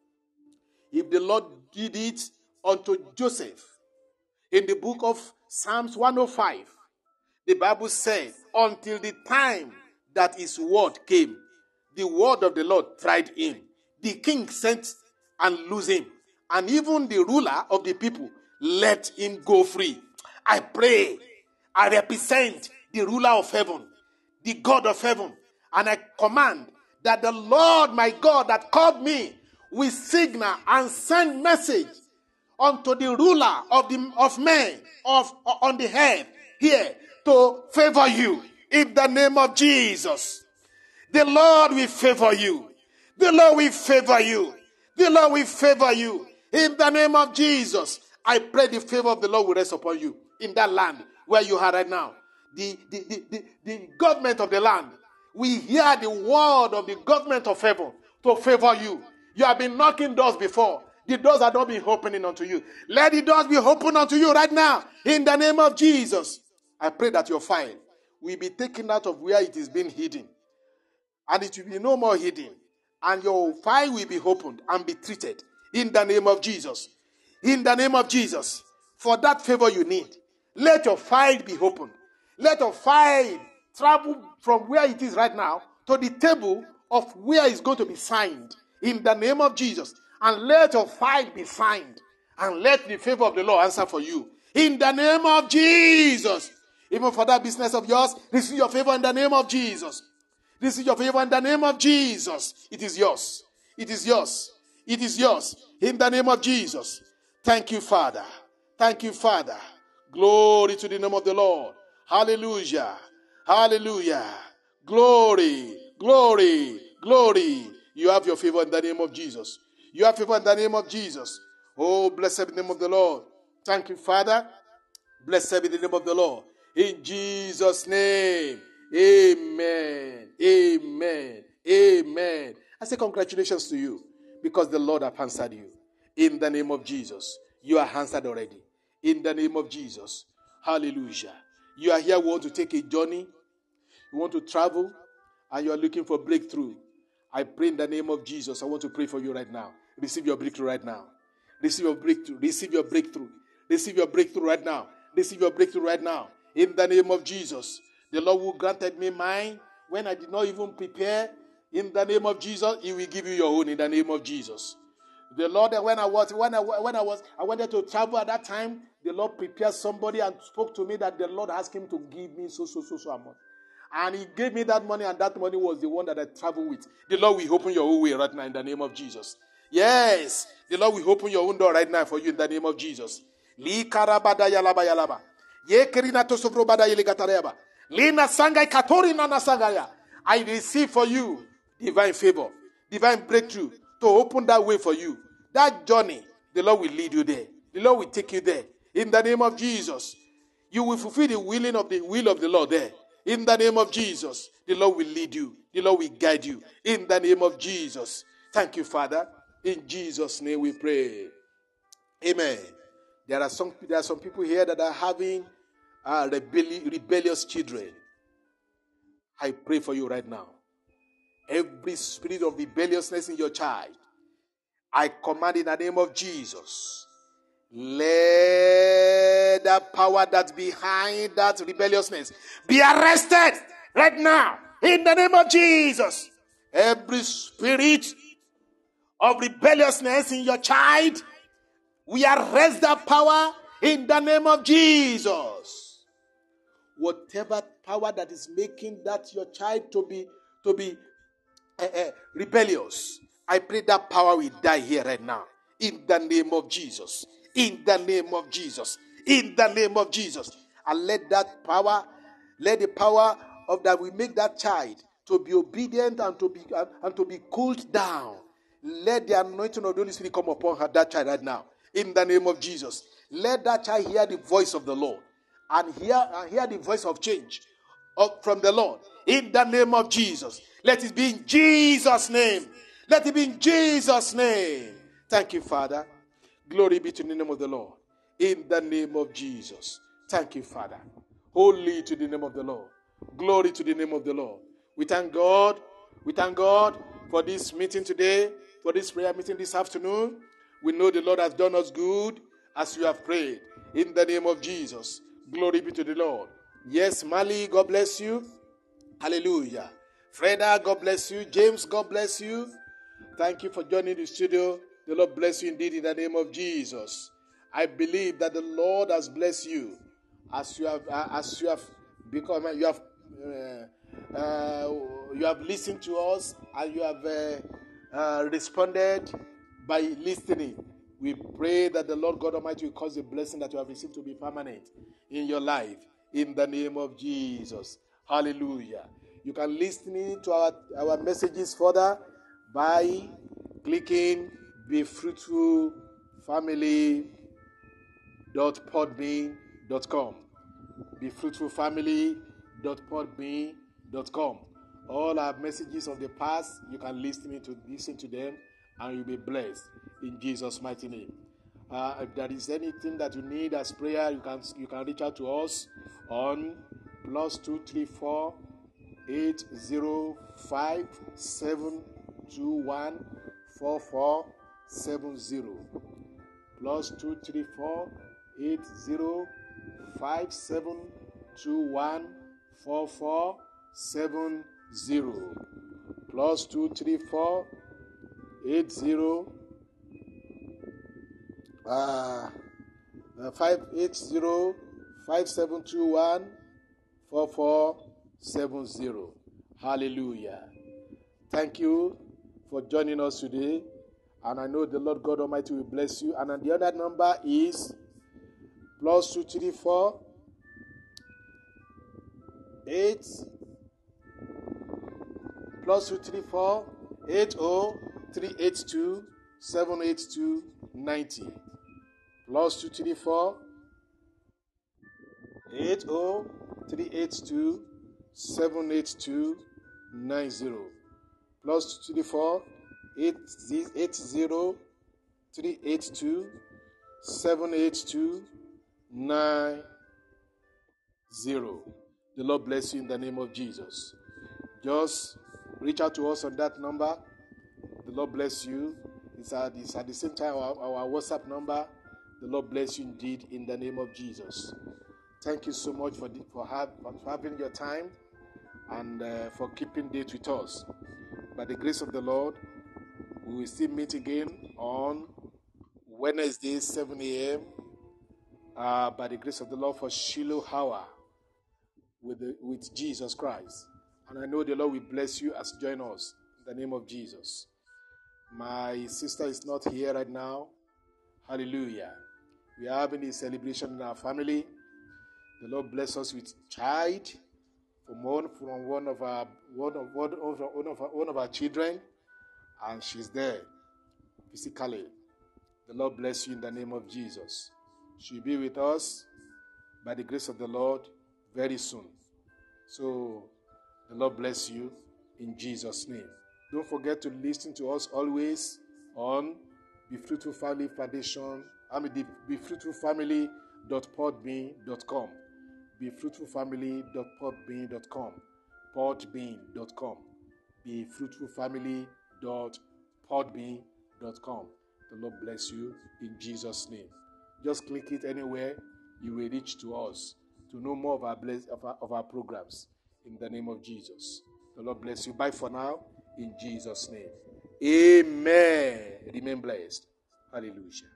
If the Lord did it unto Joseph in the book of Psalms 105, the Bible says, until the time that his word came, the word of the Lord tried him. The king sent and loosed him. And even the ruler of the people let him go free. I pray, I represent the ruler of heaven, the God of heaven, and I command that the Lord my God that called me will signal and send message unto the ruler of men on the earth here to favor you in the name of Jesus. The Lord will favor you. The Lord will favor you. The Lord will favor you in the name of Jesus. I pray the favor of the Lord will rest upon you in that land where you are right now. The government of the land, we hear the word of the government of heaven to favor you. You have been knocking doors before. The doors have not been opening unto you. Let the doors be opened unto you right now in the name of Jesus. I pray that your file will be taken out of where it is being hidden, and it will be no more hidden, and your file will be opened and be treated in the name of Jesus. In the name of Jesus. For that favor you need, let your file be opened. Let your file travel from where it is right now to the table of where it's going to be signed in the name of Jesus. And let your file be signed, and let the favor of the Lord answer for you in the name of Jesus. Even for that business of yours, receive your favor in the name of Jesus. Receive your favor in the name of Jesus. It is yours. It is yours. It is yours in the name of Jesus. Thank you, Father. Thank you, Father. Glory to the name of the Lord. Hallelujah. Hallelujah. Glory. Glory. Glory. You have your favor in the name of Jesus. You have favor in the name of Jesus. Oh, blessed be the name of the Lord. Thank you, Father. Blessed be the name of the Lord. In Jesus' name. Amen. Amen. Amen. I say congratulations to you, because the Lord has answered you. In the name of Jesus. You are answered already. In the name of Jesus. Hallelujah. You are here, want to take a journey. You want to travel. and you are looking for breakthrough, I pray in the name of Jesus. I want to pray for you right now. Receive your breakthrough right now. Receive your breakthrough. Receive your breakthrough. Receive your breakthrough right now. Receive your breakthrough right now. In the name of Jesus. The Lord who granted me mine when I did not even prepare. In the name of Jesus, He will give you your own in the name of Jesus. The Lord, when I wanted to travel at that time, the Lord prepared somebody and spoke to me that the Lord asked him to give me so amount. And He gave me that money, and that money was the one that I traveled with. The Lord will open your own way right now in the name of Jesus. Yes, the Lord will open your own door right now for you in the name of Jesus. Li karabada yalaba yalaba. Ye kerina tosovrobada yelegatareba. Lina sangai katorina nasangaya. I receive for you divine favor, divine breakthrough to open that way for you. That journey, the Lord will lead you there. The Lord will take you there. In the name of Jesus, you will fulfill the will of the Lord there. In the name of Jesus, the Lord will lead you. The Lord will guide you. In the name of Jesus. Thank you, Father. In Jesus' name we pray. Amen. There are some people here that are having rebellious children. I pray for you right now. Every spirit of rebelliousness in your child, I command in the name of Jesus, let that power that's behind that rebelliousness be arrested right now in the name of Jesus. Every spirit of rebelliousness in your child, we arrest that power in the name of Jesus. Whatever power that is making that your child to be rebellious, I pray that power will die here right now. In the name of Jesus. In the name of Jesus. In the name of Jesus. And let the power of that will make that child to be obedient and to be cooled down. Let the anointing of the Holy Spirit come upon that child right now. In the name of Jesus. Let that child hear the voice of the Lord. And hear the voice of change from the Lord. In the name of Jesus. Let it be in Jesus' name. Let it be in Jesus' name. Thank you, Father. Glory be to the name of the Lord. In the name of Jesus. Thank you, Father. Holy to the name of the Lord. Glory to the name of the Lord. We thank God. We thank God for this meeting today, for this prayer meeting this afternoon. We know the Lord has done us good as we have prayed. In the name of Jesus. Glory be to the Lord. Yes, Mali, God bless you. Hallelujah. Freda, God bless you. James, God bless you. Thank you for joining the studio. The Lord bless you indeed in the name of Jesus. I believe that the Lord has blessed you as you have become. You have listened to us and you have responded by listening. We pray that the Lord God Almighty will cause the blessing that you have received to be permanent in your life. In the name of Jesus. Hallelujah. You can listen to our messages further by clicking BeFruitfulFamily.podbean.com. BeFruitfulFamily.podbean.com. All our messages of the past, you can listen to them and you'll be blessed in Jesus' mighty name. If there is anything that you need as prayer, you can reach out to us on +234 805 721 4470. +234 805 721 4470. +234 80 580 5721 4470. Hallelujah. Thank you for joining us today. And I know the Lord God Almighty will bless you. And the other number is +234 80 782 90. +234 80 782 90. +234 80 782 90. The Lord bless you in the name of Jesus. Just reach out to us on that number. The Lord bless you. It's at the same time our WhatsApp number. The Lord bless you indeed in the name of Jesus. Thank you so much for having your time and for keeping date with us. By the grace of the Lord, we will still meet again on Wednesday, 7 a.m. By the grace of the Lord for Shiloh Hour with Jesus Christ. And I know the Lord will bless you as you join us in the name of Jesus. My sister is not here right now. Hallelujah. We are having a celebration in our family. The Lord bless us with child from one of our children, and she's there physically. The Lord bless you in the name of Jesus. She'll be with us by the grace of the Lord very soon. So the Lord bless you in Jesus' name. Don't forget to listen to us always on Be Fruitful Family Foundation. BeFruitfulFamily.podbean.com. BeFruitfulFamily.podbean.com. Podbean.com. BeFruitfulFamily.podbean.com. The Lord bless you in Jesus' name. Just click it anywhere, you will reach to us to know more of our programs in the name of Jesus. The Lord bless you. Bye for now in Jesus' name. Amen. Remain blessed. Hallelujah.